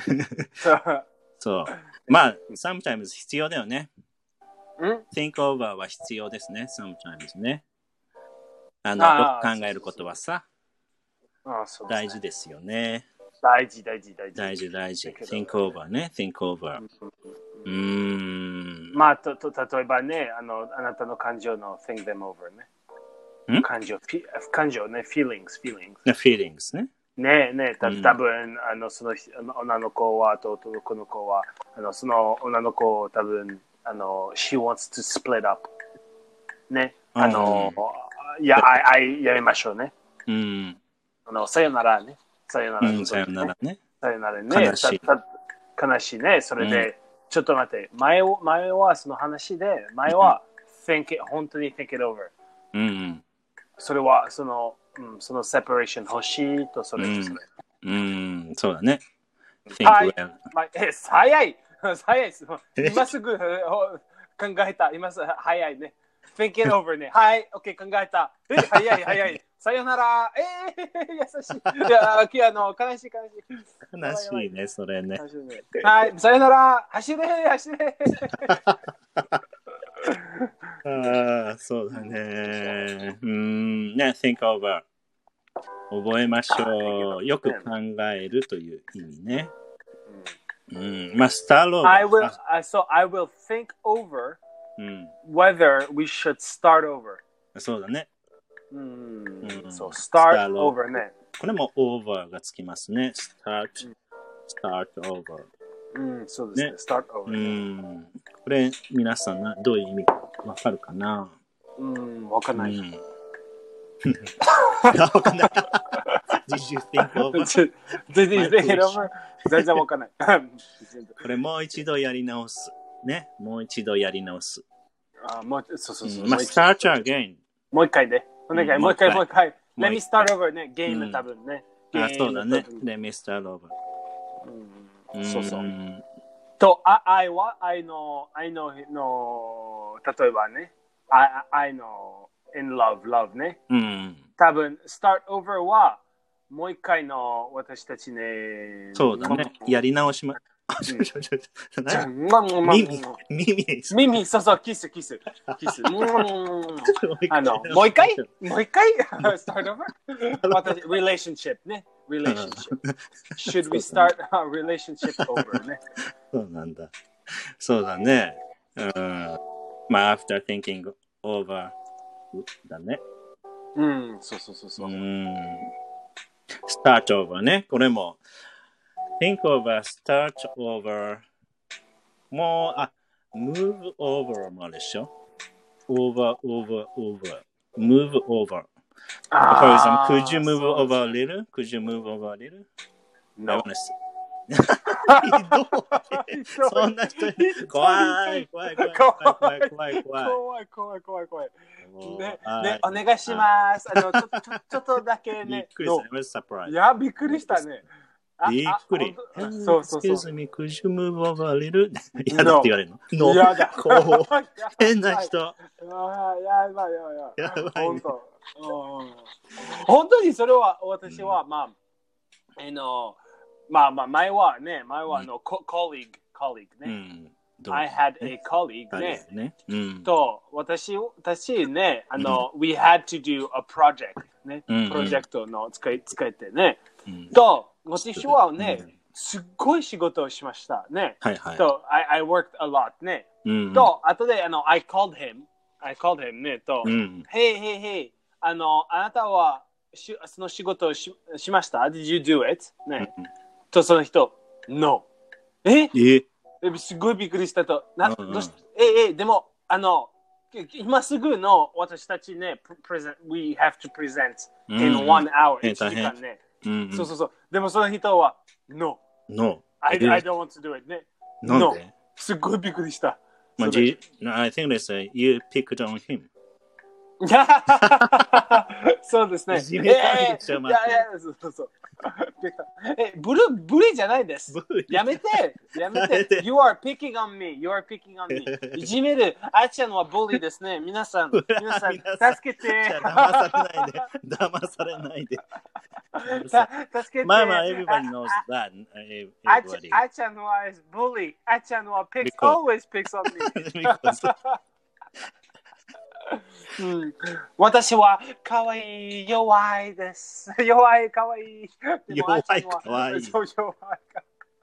[SPEAKER 2] そう。まあ、sometimes 必要だよね。
[SPEAKER 1] ん
[SPEAKER 2] think over は必要ですね。sometimes ね。あの、よく考えることはさ、
[SPEAKER 1] あそう
[SPEAKER 2] 大事ですよね。
[SPEAKER 1] 大事大事大事。
[SPEAKER 2] 大事大事。think over ね。think over。うーん。
[SPEAKER 1] まあ、と、と、例えばね、あの、あなたの感情の think them over ね。感情、感情ね、feelings, feelings。
[SPEAKER 2] feelings ね。
[SPEAKER 1] ねえねえ、た多分、あの、その女の子は、と男の子は、あの、その女の子を多分、あの、she wants to split up。ね。あの、いや、あい、やりましょうね。
[SPEAKER 2] うん。
[SPEAKER 1] あの、さよならね。さよなら、
[SPEAKER 2] うん、さよならね。
[SPEAKER 1] さよならね。
[SPEAKER 2] 悲しい。
[SPEAKER 1] 悲しいね。それで、ちょっと待って、前は、前はその話で、前は、think it、本当に think it over。
[SPEAKER 2] うん。
[SPEAKER 1] それは、その、うん、そのセパレーション欲しいと、それとそれ。
[SPEAKER 2] うん、そうだね。
[SPEAKER 1] はい。まあ、え、早い早い今すぐ考えた。今すぐ早いね。think it over ね。はい、OK、考えた。え、早い早い。さよなら。えー、優しい。いや、あの、悲しい悲しい。
[SPEAKER 2] 悲しいね、それね。
[SPEAKER 1] はい、さよなら。走れ、走れ。
[SPEAKER 2] ああ、そうだね。うん、ね、think over。覚えましょう。よく考えるという意味ね。うん、まあ、スターロー
[SPEAKER 1] I will, so I will think over whether we should start over.
[SPEAKER 2] そうだね。
[SPEAKER 1] うん、そう、start over ね。
[SPEAKER 2] これも over がつきますね。start, start over。
[SPEAKER 1] うん、そうですね。start over ね。
[SPEAKER 2] うん。これ、皆さんどういう意味かわかるかな？
[SPEAKER 1] うん、わかんない。うん、
[SPEAKER 2] わかんない。Did you think over?
[SPEAKER 1] Did you think it over? 全然わかんない。
[SPEAKER 2] これもう一度やり直す。ね。もう一度やり直す。
[SPEAKER 1] あ、もう、そうそうそう。
[SPEAKER 2] まあ、start again。
[SPEAKER 1] もう一回で。お願い、もう一回、もう一回。Let me start over ね。ゲーム多分ね。
[SPEAKER 2] あ、そうだね。Let me start over。
[SPEAKER 1] そうそう。と、I は、I の、I の、の、例えばね。I, I の、in love, love ね。多分、start over は、 もう一回の私たちね。
[SPEAKER 2] そうだね。やり直しま。
[SPEAKER 1] 耳、
[SPEAKER 2] 耳、
[SPEAKER 1] 耳、そうそう、キス、キス、キス。あの、もう一回もう一回 ?start over? 私、relationship ね。relationship. Should we start a relationship over ね。
[SPEAKER 2] そうなんだ。そうだね。うん。まあ、after thinking over だね。
[SPEAKER 1] うん、そうそうそうそう。うん。
[SPEAKER 2] start over ね。これも。think over, start over. もう、あ、move over もあるでしょ ?over, over, over. move over. For example, could you move over a little? Could you move over a little?
[SPEAKER 1] No.
[SPEAKER 2] そんな人怖い怖い怖い怖い怖い怖い
[SPEAKER 1] 怖い怖い怖い怖いねねお願いしますあのちょっとちょっとだけね
[SPEAKER 2] びっくりした
[SPEAKER 1] いやびっくりしたね
[SPEAKER 2] びっくり
[SPEAKER 1] そうそうそう
[SPEAKER 2] Excuse me, could you move over a little? やだって言われるの
[SPEAKER 1] No やだ
[SPEAKER 2] 変な人
[SPEAKER 1] やばいやばいやばい本当本当にそれは私はまああのまあまあ前はね、前はあの、コリーグ、コリーグね。I had a colleague ね。と、私、私ね、あの、we had to do a project ね。プロジェクトの使い、使えてね。と、私はね、すっごい仕事をしましたね。と、I, I worked a lot ね。と、後で、あの、I called him, I called him ね。と、Hey, hey, hey, あの、あなたはしその仕事をし、しました ?Did you do it? ね。とその人、No。ええすごいびっくりしたと。などうしええでも、あの、今すぐの私たちね、present, we have to present in one hour。いちじかんね。そうそうそう。でもその人は、No。
[SPEAKER 2] No。
[SPEAKER 1] I, I don't want to do it ね。No。すごいびっくりした。
[SPEAKER 2] まあ、I think they you picked on him。
[SPEAKER 1] そうですね。
[SPEAKER 2] いじめたんでしょ、
[SPEAKER 1] いやいや、そうそうそう。え、ブル、ブリじゃないです。やめて、やめて。You are picking on me. You are picking on me. いじめる。あちゃんはブリですね。皆さん、皆さん、助けて。
[SPEAKER 2] 騙されないで。騙されないで。
[SPEAKER 1] 助けて。
[SPEAKER 2] まあまあ、everybody knows that.
[SPEAKER 1] あちゃんはブリ。あちゃんは picks, always picks on me. うん、私はかわいい弱いです。弱いかわいい。
[SPEAKER 2] 弱いかわいい。
[SPEAKER 1] そう弱いか。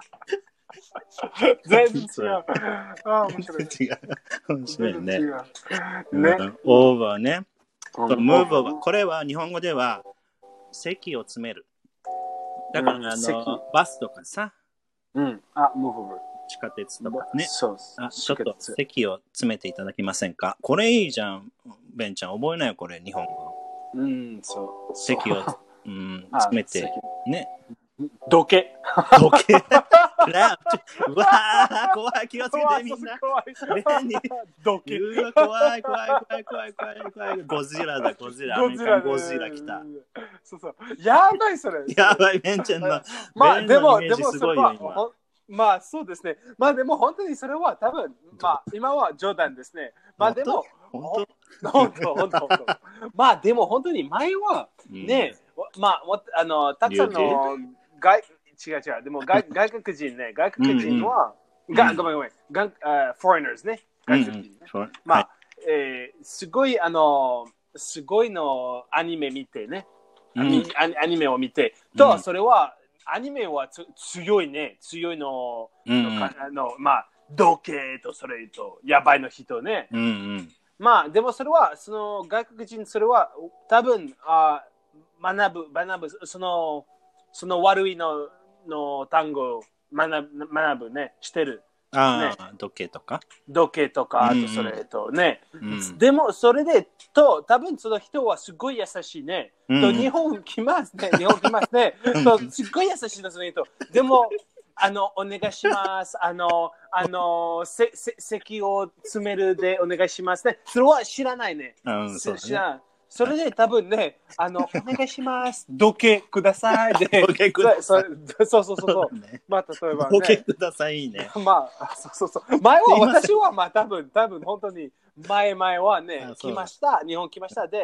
[SPEAKER 1] 全然違う。あ面白い。
[SPEAKER 2] 違う。面白いね。
[SPEAKER 1] ね。
[SPEAKER 2] オーバーね。ムーブオーバー。これは日本語では席を詰める。だから、うん、あのバスとかさ。
[SPEAKER 1] うん。あ、ムーブオーバー。
[SPEAKER 2] 地下鉄とかね。
[SPEAKER 1] そう
[SPEAKER 2] あちょっと席を詰めていただけませんか。これいいじゃん、ベンちゃん。覚えないよ、これ、日本語。
[SPEAKER 1] うん、そう。
[SPEAKER 2] 席を、うん、詰めて、ね。
[SPEAKER 1] どけ。
[SPEAKER 2] どけ。うわー、怖い、気をつけてみんな。ベンに、
[SPEAKER 1] どけ。
[SPEAKER 2] うわ、怖い、怖い、怖い、怖い、怖い、怖い。ゴジラだ、ゴジラ。アメリカンゴジラ来た。
[SPEAKER 1] そうそう。やばい、それ。
[SPEAKER 2] やばい、ベンちゃんの。
[SPEAKER 1] まあ、でも、
[SPEAKER 2] でも、すごいよ、今。
[SPEAKER 1] まあそうですね。まあでも本当にそれは多分、まあ今は冗談ですね。まあでも、
[SPEAKER 2] 本
[SPEAKER 1] 当本当本当本当まあでも本当に前はね、うん、まああのたくさんの外違う違うでも外外国人ね外国人は、うん、がごめんごめんが、uh, foreigners ね外国人、ねうん、まあ、はい、えー、すごいあのすごいのアニメ見てね、うん、アニメを見てと、うん、それはアニメはつ強いね、強いの、うんうん、のあのまあ、同系とそれと、やばいの人ね。
[SPEAKER 2] うんうん、
[SPEAKER 1] まあ、でもそれは、その外国人、それは多分あ学ぶ、学ぶ、その、その悪いのの単語を学ぶ、学ぶね、してる。
[SPEAKER 2] ああ、時計とか
[SPEAKER 1] 時計とか、あとそれとね、うんうん、でもそれでと多分その人はすごい優しいね、うん、と日本来ますね日本来ますねとすっごい優しいのその人でもあのお願いしますあのあのせせ席を詰めるでお願いしますねそれは知らないね、
[SPEAKER 2] うん、そうね
[SPEAKER 1] 知らないそれで多分ね、あの、お願いします。時計くださいで。
[SPEAKER 2] 時計ください。
[SPEAKER 1] そうそうそうそう。ね、まあ、例えば
[SPEAKER 2] ね。時計くださいね。
[SPEAKER 1] まあ、そうそうそう。前は、私はまあ多分、多分本当に、前々はね、来ました。日本来ました。で、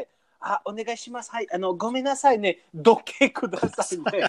[SPEAKER 1] あ、お願いします。はい、あの、ごめんなさいね。時計くださいね。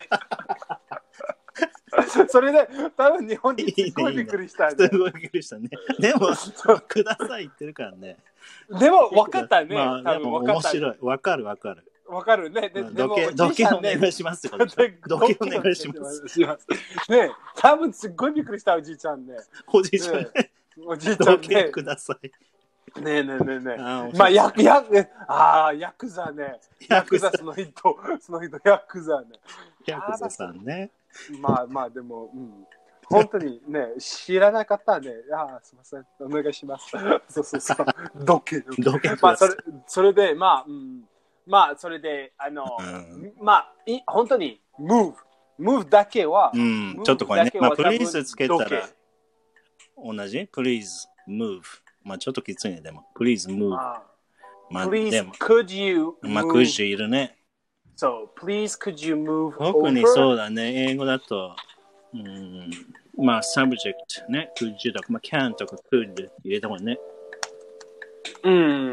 [SPEAKER 1] それで、多分日本にすごいびっくりした、ね。
[SPEAKER 2] すごいびっくりしたね。でも、ください言ってるからね。
[SPEAKER 1] でも、分かったね。
[SPEAKER 2] まあ、多分分かった。面白い。分かる分かる。
[SPEAKER 1] 分かるね。で、でも、
[SPEAKER 2] 時計お願いしますよ。時計お願いします。
[SPEAKER 1] ね、多分すっごいびっくりした、おじいちゃんね。
[SPEAKER 2] おじいちゃんね。
[SPEAKER 1] おじいちゃんね。
[SPEAKER 2] 時計ください。
[SPEAKER 1] ねえねえねえねえ。まあ、ヤク、ヤク、ああ、ヤクザね。ヤクザその人、その人、ヤクザね。
[SPEAKER 2] ヤクザさんね。
[SPEAKER 1] まあまあ、でも、うん。本当にね、知らなかったね。ああ、すみません。お願いします。そうそうそう。時計。
[SPEAKER 2] 時計。
[SPEAKER 1] まあ、それ、それで、まあ、うん。まあ、それで、あの、うん、まあ、い本当に、move。move だけは、
[SPEAKER 2] うん、ちょっとこれね。まあ、please つけたら、同じ ?please move。まあちょっときついね、でも。Please move.
[SPEAKER 1] まあ、Please, could you move?
[SPEAKER 2] まあ、could you いるね。
[SPEAKER 1] そう、Please, could you move over?
[SPEAKER 2] 特にそうだね。英語だと、うん、まあ、subject ね。could you とか、まあ、can とか could 入れた方がね。
[SPEAKER 1] うん、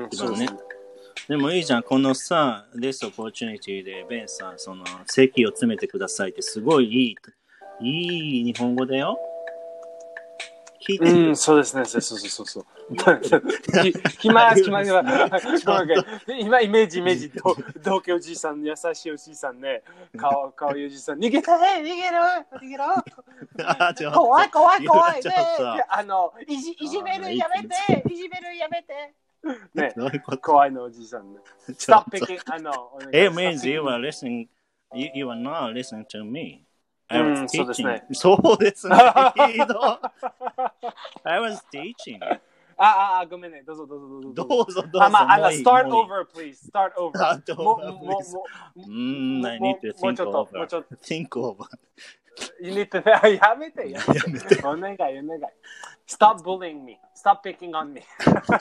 [SPEAKER 1] そうね。
[SPEAKER 2] でもいいじゃん。このさ、this opportunity で、ベンさん、その、席を詰めてくださいって、すごいいい、いい日本語だよ。
[SPEAKER 1] 聞いてる。うん、そうですね。そうそうそうそう。暇、暇、暇。今、イメージ、イメージ。同居おじいさん、優しいおじいさんね。顔、顔いいおじいさん。逃げたい逃げろ逃げろ怖い、怖い、怖い。ね、あの、いじ、いじめるやめていじめるやめてね、怖いのおじいさんね。Stop picking, あの、
[SPEAKER 2] It means you are listening, you, you are not listening to me. I was teaching.
[SPEAKER 1] そうですね。
[SPEAKER 2] ひど。I was teaching.
[SPEAKER 1] ああ、ごめんね。どうぞどうぞどうぞ。
[SPEAKER 2] どうぞどうぞ。
[SPEAKER 1] あ、まあ、あの、start over, please. Start over.
[SPEAKER 2] もう、もう、うん、I need to think over. もうちょっと。think over.
[SPEAKER 1] You need to, やめて、やめて。お願い、お願い。Stop bullying me. Stop picking on me.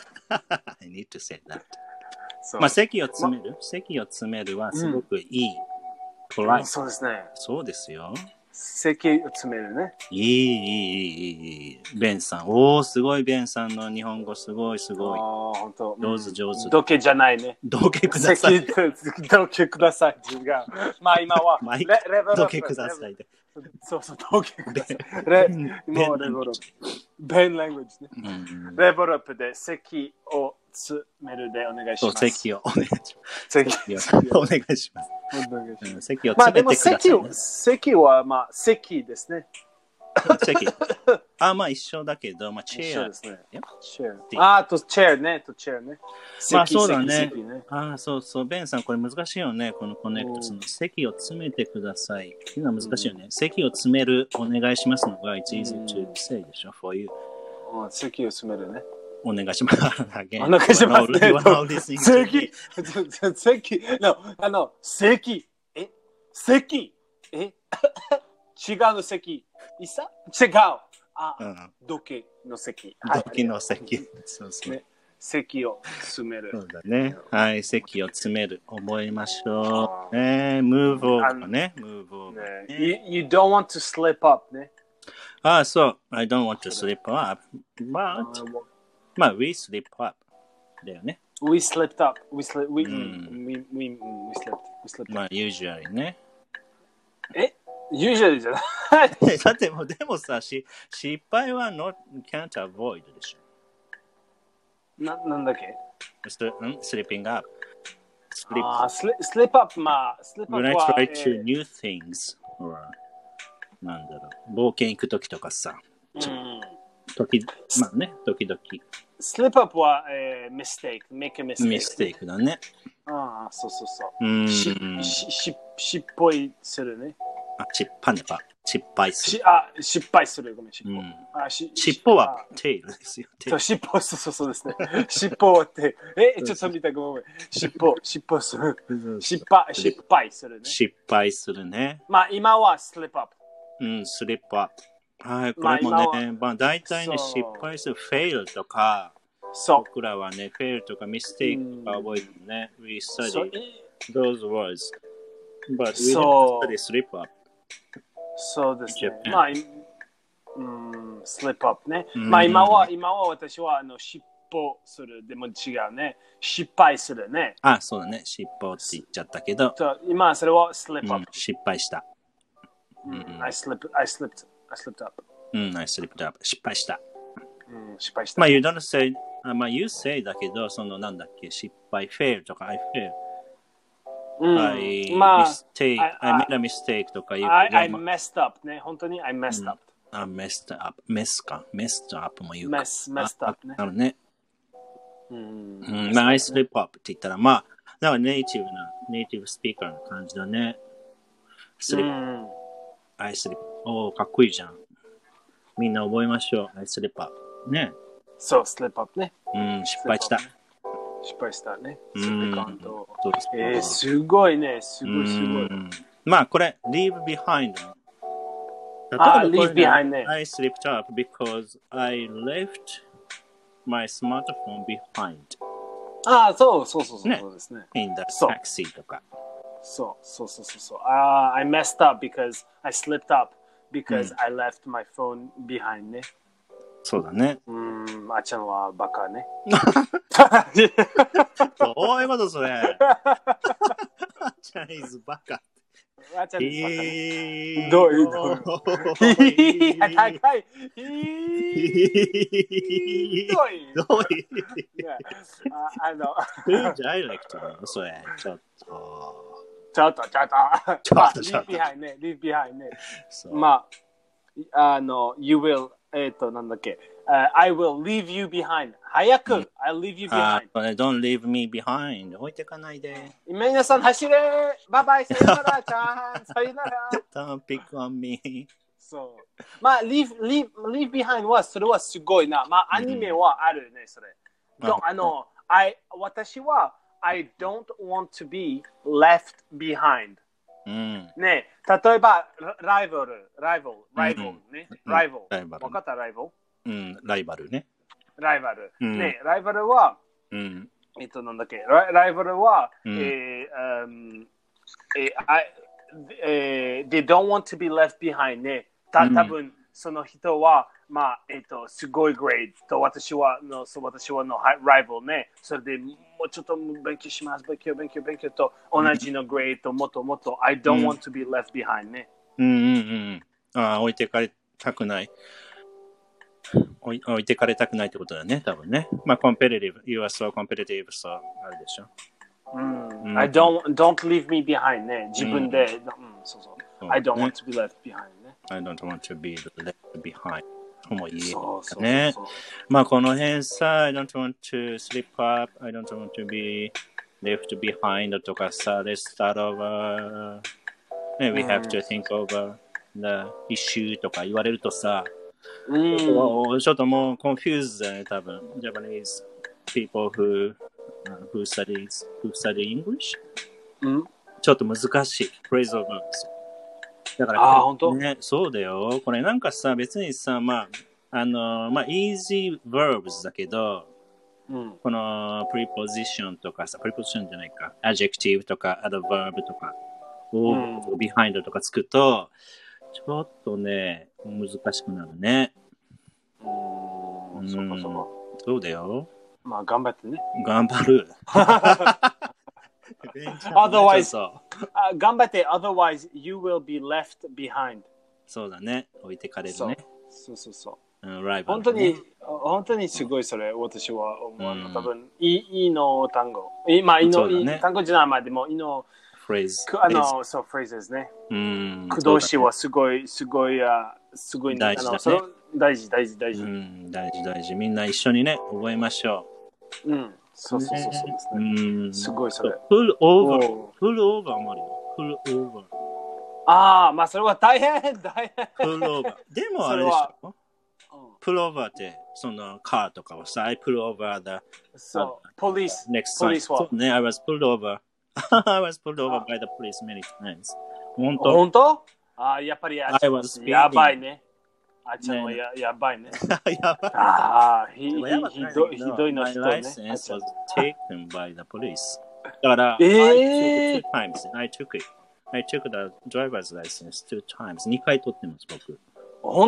[SPEAKER 2] I need to say that. まあ、席を詰める席を詰めるはすごくいい。
[SPEAKER 1] そうですね。
[SPEAKER 2] そうですよ。
[SPEAKER 1] 席を詰めるね。
[SPEAKER 2] いい、いい、いい、いい。ベンさん。おー、すごい、ベンさんの日本語、すごい、すごい。
[SPEAKER 1] ああ、ほんと。
[SPEAKER 2] 上手、上手。
[SPEAKER 1] 時計じゃないね。
[SPEAKER 2] 時計ください。
[SPEAKER 1] 時計ください。違う。まあ今は、
[SPEAKER 2] レベル時計くださいで。
[SPEAKER 1] そうそう、時計ください。レもうレベルアップ。ベンラングジね。レベルアップで席を詰めるでお願いします。
[SPEAKER 2] そう、席をお願いします。
[SPEAKER 1] 席
[SPEAKER 2] をお願いします。席を
[SPEAKER 1] まあでも
[SPEAKER 2] 詰めてください、ね。
[SPEAKER 1] 席はまあ席ですね。
[SPEAKER 2] 席。あ、まあ一緒だけど、まあチェア。
[SPEAKER 1] ですね。チェア。あ、とチェアね、とチェアね。
[SPEAKER 2] まあそうだね。あ、そうそう。ベンさん、これ難しいよね。このコネクト。その席を詰めてください。っていうのは難しいよね。席を詰める、お願いしますのが、it's easy to say でしょ、for you。
[SPEAKER 1] 席を詰めるね。
[SPEAKER 2] お願いします。
[SPEAKER 1] お願いしますね。席、席、あの、席、え、席、え、違うの席、いさ違う。あ、時計の席。
[SPEAKER 2] 時計の席。そうそう。
[SPEAKER 1] 席を詰める。
[SPEAKER 2] そうだね。はい、席を詰める。覚えましょう。えー、move over ね。move over。
[SPEAKER 1] You don't want to slip up ね。
[SPEAKER 2] あ、そう。I don't want to slip up. But, まあ、we slip up だよね。
[SPEAKER 1] We slipped up. We slipped. We, we, we, we slipped. We slipped.
[SPEAKER 2] まあ、usually ね。
[SPEAKER 1] え ?usually じゃない。
[SPEAKER 2] だってもう、でもさ、し失敗は not, can't avoid でし
[SPEAKER 1] ょ。な、なんだっけ
[SPEAKER 2] ?slipping up.
[SPEAKER 1] Slip. ああ、slip up まあ、slip up は。
[SPEAKER 2] When I try to new things, or なんだろう、冒険行くときとかさ。うん。時、まあね、時々。
[SPEAKER 1] スリップアップは、えー、mistake, make a mistake.
[SPEAKER 2] ミステイクだね。
[SPEAKER 1] ああ、そうそうそう。
[SPEAKER 2] うん。
[SPEAKER 1] し、し、し、失敗するね。
[SPEAKER 2] あ、失敗ねば。失敗する。
[SPEAKER 1] し、あ、失敗する。ごめん、尻尾。うん、あし
[SPEAKER 2] 尻尾はテールですよ。
[SPEAKER 1] そう、尻尾、そうそうですね。尻尾はテール。え、ちょっと見たごめん。尻尾、尻尾する。失敗、失敗するね。
[SPEAKER 2] 失敗するね。
[SPEAKER 1] まあ、今はスリップアップ。
[SPEAKER 2] うん、スリップアップ。はい、これもね、まあ、大体ね、失敗する、fail とか、
[SPEAKER 1] そう
[SPEAKER 2] 僕らはね、fail とか mistake が覚えてるね。We study those words. But we don't study slip up.
[SPEAKER 1] そうですね。まあ、うん、slip up ね。まあ、今は、今は私は、あの、失歩する。でも違うね。失敗するね。
[SPEAKER 2] あ、そうだね。失敗って言っちゃったけど。
[SPEAKER 1] 今それは slip up、うん。
[SPEAKER 2] 失敗した。
[SPEAKER 1] うん、I slipped, I slipped, I slipped up。
[SPEAKER 2] うん、I slipped up。失敗した。
[SPEAKER 1] うん、失敗した。
[SPEAKER 2] まあ、you don't say, まあ、you say だけど、そのなんだっけ、失敗、fail とか I fail。
[SPEAKER 1] うん、
[SPEAKER 2] I
[SPEAKER 1] まあ、
[SPEAKER 2] mistake, I, I made a mistake とか言う。
[SPEAKER 1] I, I messed up ね。本当に I messed up。
[SPEAKER 2] うん、あ、messed up。mess か。messed up も言うか。
[SPEAKER 1] mess, messed up ね。
[SPEAKER 2] なるね。
[SPEAKER 1] うん。
[SPEAKER 2] うん、まあ、I slip up って言ったら、まあ、だからネイティブな、ネイティブスピーカーの感じだね。slip、うん、I slip。おー、かっこいいじゃん。みんな覚えましょう。I slip up。ね。
[SPEAKER 1] そう、slip up ね。
[SPEAKER 2] うん、失敗した。
[SPEAKER 1] 失敗したね。
[SPEAKER 2] うん。
[SPEAKER 1] えー、すごいね。すごいすごい。
[SPEAKER 2] まあ、これ、leave behind。
[SPEAKER 1] あ、leave behind ね。
[SPEAKER 2] I slipped up because I left my smartphone behind。
[SPEAKER 1] ああ、そうそうそうそう、
[SPEAKER 2] ね、
[SPEAKER 1] そうですね。
[SPEAKER 2] in the taxi とか。
[SPEAKER 1] そうそうそうそうそう。あ、uh, I messed up because I slipped up because、うん、I left my phone behind ね。
[SPEAKER 2] そうだね。
[SPEAKER 1] うん、あちゃんはバカね。
[SPEAKER 2] どういうことそれ。あちゃん is バカ。
[SPEAKER 1] あちゃん is バカね。どういうどういう。高い。ひどい。
[SPEAKER 2] どういう。
[SPEAKER 1] あ、あの。
[SPEAKER 2] ダイレクトなのそれ。ちょっと。
[SPEAKER 1] ちょっとちょっと。
[SPEAKER 2] ちょっとちょっと。
[SPEAKER 1] leave behind ね。leave behind ね。まあ、あの、you will、えっと、なんだっけ。Uh, I will leave you behind. 早く、うん、I'll leave you behind.
[SPEAKER 2] Don't leave me behind. 置いてかないで。
[SPEAKER 1] 皆さん走れ。バイバイ。さよなら。ちゃん。さよなら。
[SPEAKER 2] Don't pick on me.
[SPEAKER 1] そう。まあ、leave, leave, leave behind は、それはすごいな。まあ、アニメはあるね、それ。うん、あの、I、私は、I don't want to be left behind.
[SPEAKER 2] うん、
[SPEAKER 1] ね、例えば、ライバル、ライバル、ライバルね。ライバル。わかった、ライバル。
[SPEAKER 2] うん、ライバルね。
[SPEAKER 1] ライバル。うん、ね、ライバルは、うん、えっと、なんだっけ、ライライバルは、うん、えー、um, えー、I, えー、they don't want to be left behind ね。た、多分、うん、その人は、まあ、えっと、すごいグレードと、私は、の、そう、私はのライバルね。それでもうちょっと勉強します。勉強、勉強、勉強と、同じのグレード、もっともっと、I don't want to be left behind ね。
[SPEAKER 2] うんうんうん。ああ、置いてかれたくない。置い、置いてかれたくないってことだね、多分ね。まあ、コンペティティブ、You are so competitive, so あるでしょ。
[SPEAKER 1] うん。I don't, don't leave me behind ね。自分で、うん、そうそう。I don't want to be left behind ね。
[SPEAKER 2] I don't want to be left behind. もういいね。まあ、この辺さ、I don't want to slip up, I don't want to be left behind とかさ、let's start over. ね、we have to think over the issue とか言われるとさ、うん、ちょっともう confused だね、多分。Japanese people who, who, studies, who study English、うん、ちょっと難しい。phrasal verbs。だから、
[SPEAKER 1] あ、本当？
[SPEAKER 2] ね、そうだよ。これなんかさ、別にさ、まあ、あの、まあ、easy verbs だけど、うん、この preposition とかさ、preposition じゃないか、adjective とか adverb とか、うん、behind とかつくと、ちょっとね、難しくなるね。
[SPEAKER 1] うーん、うん、そうかそうか。
[SPEAKER 2] そうだよ。
[SPEAKER 1] まあ、頑張ってね。
[SPEAKER 2] 頑張る。
[SPEAKER 1] otherwise, uh, 頑張って、otherwise you will be left behind.
[SPEAKER 2] そうだね。置いてかれるね。
[SPEAKER 1] そうそうそう。
[SPEAKER 2] うん、ライバルね、
[SPEAKER 1] 本当に、本当にすごいそれ、私は思う。うん、多分、いいの単語。いまあ、いの、ね、単語じゃないまでも、いの、
[SPEAKER 2] フレーズ。
[SPEAKER 1] あの、そう、フレーズですね。うん。駆動詞はすごい、すごい、すごい、
[SPEAKER 2] 大事だね。
[SPEAKER 1] あの大事、大事、大事。
[SPEAKER 2] うん、大事、大事。みんな一緒にね、覚えましょ
[SPEAKER 1] う。うん。そうそうそうそうですね。うん。すごいそれ。
[SPEAKER 2] フルオーバー。フルオーバーもあるよ。フルオーバー。
[SPEAKER 1] ああ、まあそれは大変、大変。
[SPEAKER 2] フルオーバー。でもあれでしょ。プルオーバーって、そのカーとかはさ、I pull over the
[SPEAKER 1] そう、police
[SPEAKER 2] next time. そうね、I was pulled over. I was pulled over by the police many times. 本当
[SPEAKER 1] 本当ああ、やっぱりあやばいね。あっちゃんはや、やばいね。
[SPEAKER 2] やばい。
[SPEAKER 1] ああ、ひどい、ひどいの人ね。
[SPEAKER 2] My license was taken by the police. だから、
[SPEAKER 1] えー、
[SPEAKER 2] I took two times. I took it. I took the driver's license two times. にかい取ってます、僕。
[SPEAKER 1] 本当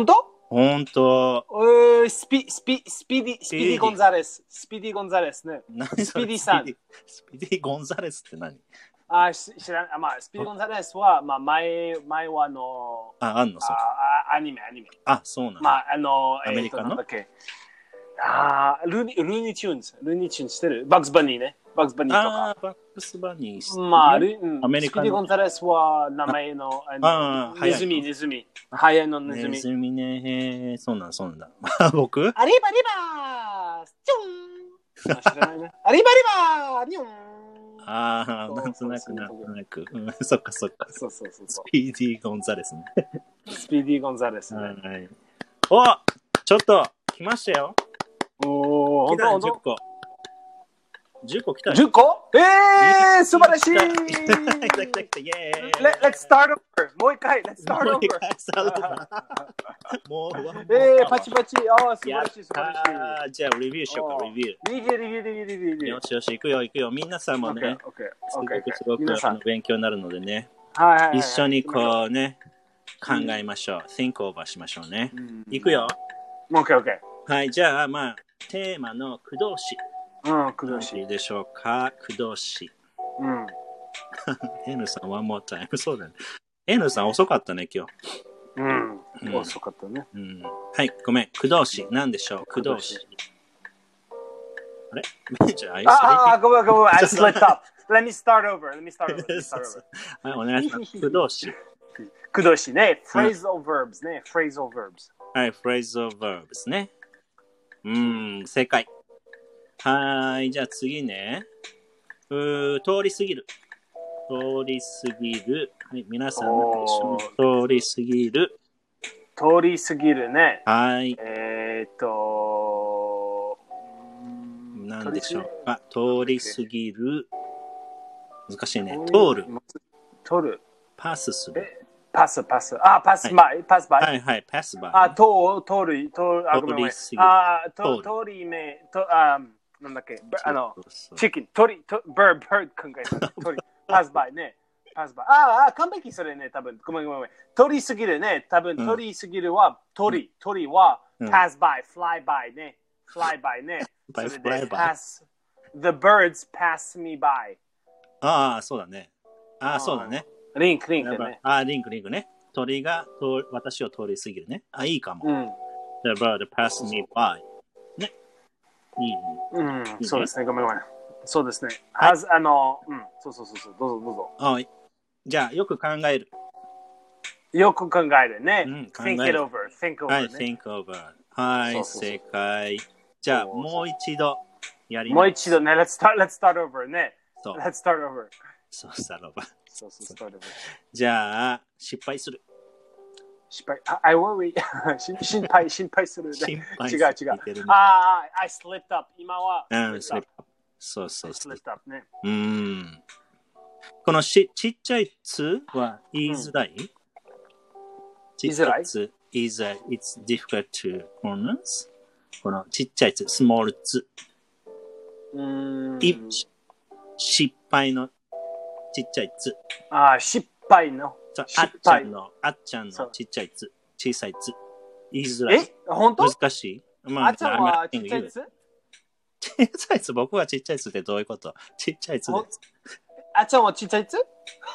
[SPEAKER 2] ほんと。
[SPEAKER 1] うースピ、スピ、スピディ、スピディ・ゴンザレス。スピディ・ゴンザレスね。
[SPEAKER 2] 何
[SPEAKER 1] スピディさん。
[SPEAKER 2] スピディ・ゴンザレスって何？
[SPEAKER 1] あ、知らん、まあ、スピディ・ゴンザレスは、まあ、前、前はあの、
[SPEAKER 2] あ、あんのそう。
[SPEAKER 1] あ、アニメ、アニメ。
[SPEAKER 2] あ、そうなの。
[SPEAKER 1] まあ、あの、
[SPEAKER 2] アメリカの、
[SPEAKER 1] えー、なんだっけ。あルーニ、ルーニチューンズ。ルーニチューンズしてるバックス・バニーね。バックス・バニーとか。
[SPEAKER 2] あ、バックス・バニー。
[SPEAKER 1] まあ、ル
[SPEAKER 2] アメリカの
[SPEAKER 1] スピディ・ゴンザレスは名前の、あ
[SPEAKER 2] の
[SPEAKER 1] ネズミ、ネズミ。早いのネズミ。
[SPEAKER 2] ネズミね。そうなんそうなんだ。僕
[SPEAKER 1] アリバリバーチュン知らないね。アリバリバーニョン
[SPEAKER 2] ああ、なんとなく、なんとなく。うん、そっかそっか。
[SPEAKER 1] そうそうそうそう。
[SPEAKER 2] スピーディー・ゴンザレスね。
[SPEAKER 1] スピーディー・ゴンザレスね。
[SPEAKER 2] はい。お、ちょっと、来ましたよ。
[SPEAKER 1] おー、ほんとほん
[SPEAKER 2] じゅっ
[SPEAKER 1] と。
[SPEAKER 2] こ。じゅっこ来たよ。
[SPEAKER 1] じゅっこえー、素晴らしい
[SPEAKER 2] 来た来た来た、イェーイ
[SPEAKER 1] Let's start over! もう一回、Let's start
[SPEAKER 2] もう
[SPEAKER 1] over!
[SPEAKER 2] 一回スタートだもう、
[SPEAKER 1] えー、パチパチ。あー、素晴
[SPEAKER 2] やっ
[SPEAKER 1] らしい、素晴らしい。
[SPEAKER 2] たー。じゃあ、レビューしようか、レビュー。
[SPEAKER 1] レビュー、レビュー、レビュー、レビュー、レビュー。
[SPEAKER 2] よしよし、行くよ、行くよ。皆さんもね、
[SPEAKER 1] オッケー、
[SPEAKER 2] すご
[SPEAKER 1] オッケー、
[SPEAKER 2] くすごく
[SPEAKER 1] 皆さん
[SPEAKER 2] あの勉強になるのでね、
[SPEAKER 1] はいはいはい、
[SPEAKER 2] 一緒にこうね、考えましょう。think over しましょうね。行くよ。
[SPEAKER 1] オッケー、オッケ
[SPEAKER 2] はい、じゃあ、まあ、テーマの駆動詞。
[SPEAKER 1] ー。うん、くど
[SPEAKER 2] どう
[SPEAKER 1] しい。
[SPEAKER 2] でしょうか、駆動詞。
[SPEAKER 1] うん。
[SPEAKER 2] N さん、one more time。そうだね。N さん、遅かったね、今日。
[SPEAKER 1] うん。
[SPEAKER 2] うん
[SPEAKER 1] 遅かったね。
[SPEAKER 2] うん、はい、ごめん。駆動詞。何でしょう駆動詞。あれじゃあ、
[SPEAKER 1] ああ、ごめん、ごめん。I slipped up. Let me start over. Let me start over. Let me start over.
[SPEAKER 2] はい、お願いします。駆動詞。
[SPEAKER 1] 駆動詞ね。phrasal verbs ね。phrasal verbs。
[SPEAKER 2] はい、phrasal verbs ね。うーん、正解。はい、じゃあ次ね。うー、通り過ぎる。通り過ぎる。はい、皆さん何でしょう。通り過ぎる。
[SPEAKER 1] 通り過ぎるね。
[SPEAKER 2] はい。
[SPEAKER 1] えーっと、
[SPEAKER 2] 何でしょうか。通り過ぎる。難しいね。通る。
[SPEAKER 1] 通る。
[SPEAKER 2] パスする。
[SPEAKER 1] パス、パス。あ、パスバイ。パスバイ。
[SPEAKER 2] はいはい、パスバイ。
[SPEAKER 1] あ、通る、通る、あ、ごめんごめん。あ、通り目、と、あ、なんだっけ、あの、チキン、鳥、バー、バー考えた。鳥、パスバイね。パスバイ。ああ、完璧それね、多分。ごめんごめんごめん。通り過ぎるね。多分、通り過ぎるは、鳥、鳥は、pass by、fly by ね。fly by ね。それで、pass、the birds pass me by。
[SPEAKER 2] ああ、そうだね。ああ、そうだね。
[SPEAKER 1] リンク、リンクね。
[SPEAKER 2] ああ、リンク、リンクね。鳥が私を通り過ぎるね。あ、いいかも。
[SPEAKER 1] うん。
[SPEAKER 2] The bird pass me by。ね。いい。
[SPEAKER 1] うん、そうですね。ごめんごめん。そうですね。はず、あの、うん、そうそうそうそう。どうぞどうぞ。
[SPEAKER 2] はい。じゃあ、よく考える。
[SPEAKER 1] よく考えるね。
[SPEAKER 2] うん、考
[SPEAKER 1] think
[SPEAKER 2] える。
[SPEAKER 1] it over, think over、ね。
[SPEAKER 2] はい、think over。はい、そうそうそう正解。じゃあ、もう一度やります。
[SPEAKER 1] もう一度ね、let's start, let's start over ね。
[SPEAKER 2] そう。
[SPEAKER 1] let's start over。
[SPEAKER 2] そう、スタートオーバー。
[SPEAKER 1] そうそう、スタートオーバー。
[SPEAKER 2] じゃあ、失敗する。
[SPEAKER 1] 失敗。I worry 心配、心配する、ね。
[SPEAKER 2] 心配す
[SPEAKER 1] る。違う違う。
[SPEAKER 2] ね、
[SPEAKER 1] ああ、I slipped up。今は。
[SPEAKER 2] うん、スリップ。そうそう
[SPEAKER 1] そう。slipped up ね。
[SPEAKER 2] うん。このしちっちゃいつは言いづらい、うん、
[SPEAKER 1] 言いづらい
[SPEAKER 2] is a, it's difficult to pronounce このちっちゃいつ、small つ。
[SPEAKER 1] うん。
[SPEAKER 2] 失敗のちっちゃいつ。
[SPEAKER 1] ああ、失敗の。
[SPEAKER 2] あっちゃんの、あっちゃんのちっちゃいつ。小さいつ。言いづらい。
[SPEAKER 1] え本当
[SPEAKER 2] 難しい、
[SPEAKER 1] まあ、あっちゃんはちっちゃいつ
[SPEAKER 2] 小さいつ、僕はちっちゃいつってどういうこと？ちっちゃいつです。
[SPEAKER 1] あっちゃんはちっちゃいつ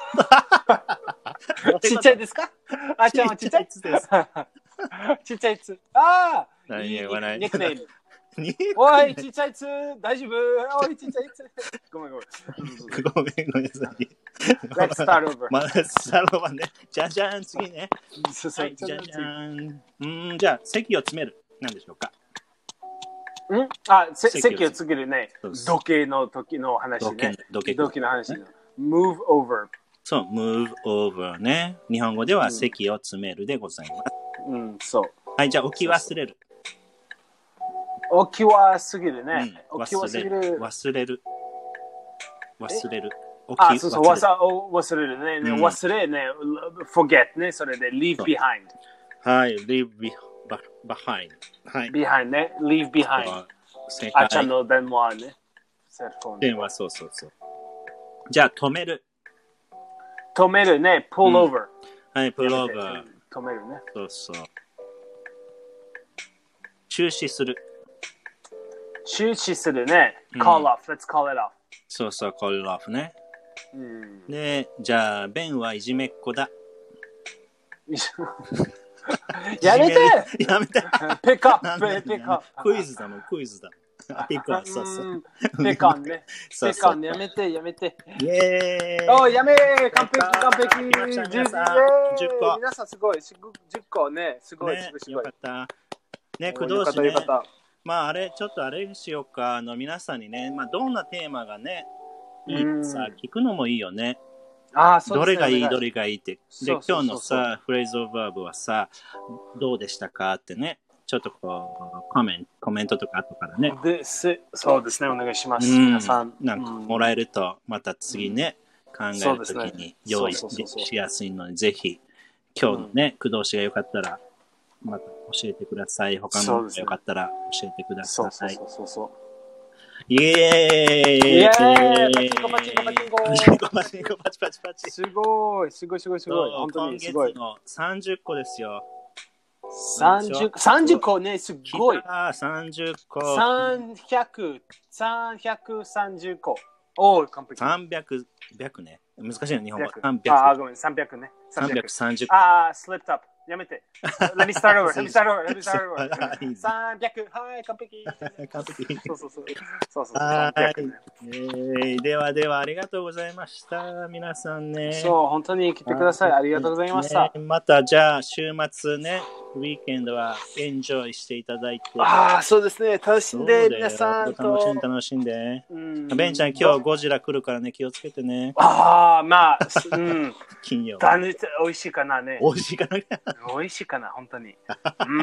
[SPEAKER 1] ちっちゃいですか？あっちゃんはちっちゃいつです。ちっちゃいつ。ああいいニックネーム。おい、ちっちゃいつ、大丈夫？おい、ちっちゃいつ。ごめんごめん。
[SPEAKER 2] ごめんごめんなさい。
[SPEAKER 1] Let's start over.
[SPEAKER 2] まあ、Let's start over ね。じゃじゃん、次ね。
[SPEAKER 1] はい、
[SPEAKER 2] じゃじゃん。うん、じゃあ、席を詰める。何でしょうか？
[SPEAKER 1] んあ、席を詰めるね。時計の時の話ね。
[SPEAKER 2] 時
[SPEAKER 1] 計の話。move over。
[SPEAKER 2] そう、move over ね。日本語では席を詰めるでございます。
[SPEAKER 1] うん、そう。
[SPEAKER 2] はい、じゃあ、置き忘れる。
[SPEAKER 1] 置き忘れるね。
[SPEAKER 2] 置き忘れる。忘れる。忘れる。
[SPEAKER 1] あ、そうそう、忘れるね。忘れね。forget ね。それで leave behind。
[SPEAKER 2] はい、leave behind。はい。
[SPEAKER 1] behind ね。leave behind。あっちゃんの電話ね。
[SPEAKER 2] 電話、そうそうそう。じゃあ、止める。
[SPEAKER 1] 止めるね。pull over。
[SPEAKER 2] はい、pull over。
[SPEAKER 1] 止めるね。
[SPEAKER 2] そうそう。 中止する。
[SPEAKER 1] 中止するね。call off.Let's call it off.
[SPEAKER 2] そうそう、call it off ね。
[SPEAKER 1] うん、
[SPEAKER 2] で、じゃあ、ベンはいじめっ子だ。
[SPEAKER 1] やめて
[SPEAKER 2] やめて
[SPEAKER 1] ピックアップピックアップ
[SPEAKER 2] クイズだもん、クイズだもん。ピックアップ、そうそう。
[SPEAKER 1] ピックアップね。ピックアップやめて、やめて。
[SPEAKER 2] イェーイ
[SPEAKER 1] おやめー完璧、完璧
[SPEAKER 2] じゅっこ。
[SPEAKER 1] 皆さんすごい。じゅっこね。すごい、
[SPEAKER 2] ね、
[SPEAKER 1] すごい。
[SPEAKER 2] よかった。ね、工藤氏ね。まあ、あれ、ちょっとあれにしようか。あの、皆さんにね、まあ、どんなテーマがね、いいさ、聞くのもいいよね。
[SPEAKER 1] あそうですね、
[SPEAKER 2] どれがいい、どれがいいって。で、今日のさ、フレーズオブバーブはさ、どうでしたかってね、ちょっとこう、コメント、コメントとか後からね。
[SPEAKER 1] でそうですね、お願いします。うん、皆さん。
[SPEAKER 2] なんかもらえると、また次ね、うん、考えるときに用意しやすいので、ぜひ、今日のね、工藤氏がよかったら、また教えてください。他のがよかったら教えてください。
[SPEAKER 1] そうそうそうそう。
[SPEAKER 2] イエーイイエ
[SPEAKER 1] ーイパチンコパチンコパチンコ
[SPEAKER 2] パチンコパチパチパチ
[SPEAKER 1] すごいすごいすごいすごい本当にすごい
[SPEAKER 2] 今月のさんじゅっこですよ。
[SPEAKER 1] さんじゅう、さんじゅっこね、すごい。
[SPEAKER 2] さんじゅっこ。
[SPEAKER 1] さんびゃく、さんびゃくさんじゅっこ。おー、完璧。
[SPEAKER 2] さんびゃく、ね。難しいの、日本語。
[SPEAKER 1] さんびゃく。あー、ごめん、さんびゃくね。
[SPEAKER 2] さんびゃくさんじゅっこ。
[SPEAKER 1] あー、slipped up。やめて。Let me start over. Let me start over. Let me start over. さんびゃく。はい、完璧。
[SPEAKER 2] 完璧。
[SPEAKER 1] そうそうそう。そうそうそう。
[SPEAKER 2] はい。えー、ではでは、ありがとうございました。皆さんね。
[SPEAKER 1] そう、本当に来てください。ありがとうございました。
[SPEAKER 2] ね、また、じゃあ、週末ね、ウィーケンドはエンジョイしていただいて。
[SPEAKER 1] ああ、そうですね。楽しんで、皆さんと。
[SPEAKER 2] 楽しんで、楽しんで。うん、ベンちゃん、今日ゴジラ来るからね、気をつけてね。
[SPEAKER 1] ああ、まあ、うん。
[SPEAKER 2] 金曜。
[SPEAKER 1] 美味しいかなね。
[SPEAKER 2] 美味しいかな
[SPEAKER 1] 美味しいかな、本当に。うん。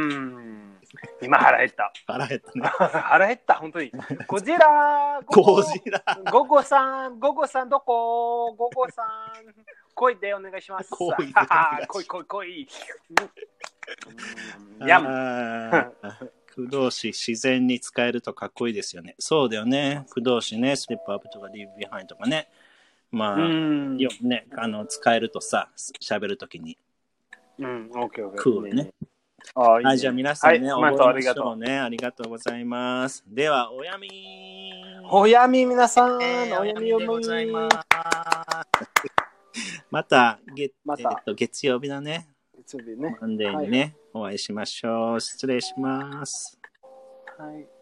[SPEAKER 1] 今腹減った。
[SPEAKER 2] 腹減ったね。
[SPEAKER 1] 腹減った、本当に。ゴジラ
[SPEAKER 2] ゴジラ
[SPEAKER 1] ゴゴさん、ゴゴさんどこゴゴさん。来いでお願いします。
[SPEAKER 2] 来い。
[SPEAKER 1] 来い来い来い。やん。
[SPEAKER 2] 工藤氏、自然に使えるとかっこいいですよね。そうだよね。工藤氏ね、スリップアップとか リーブ ビハインドとかね。まあ、よね、あの、使えるとさ、喋るときに。
[SPEAKER 1] うん、オッケーオッケー。
[SPEAKER 2] クールね。
[SPEAKER 1] あいいね、
[SPEAKER 2] はい、じゃあ皆さんね、
[SPEAKER 1] はい、
[SPEAKER 2] 覚えましょうね。ありがとうございます。では、おやみ
[SPEAKER 1] おやみ皆さん、
[SPEAKER 2] えー、おやみでございます。また、月、またえっと、月曜日だね。
[SPEAKER 1] 月曜日ね。
[SPEAKER 2] マンデーにね、はい、お会いしましょう。失礼します。
[SPEAKER 1] はい。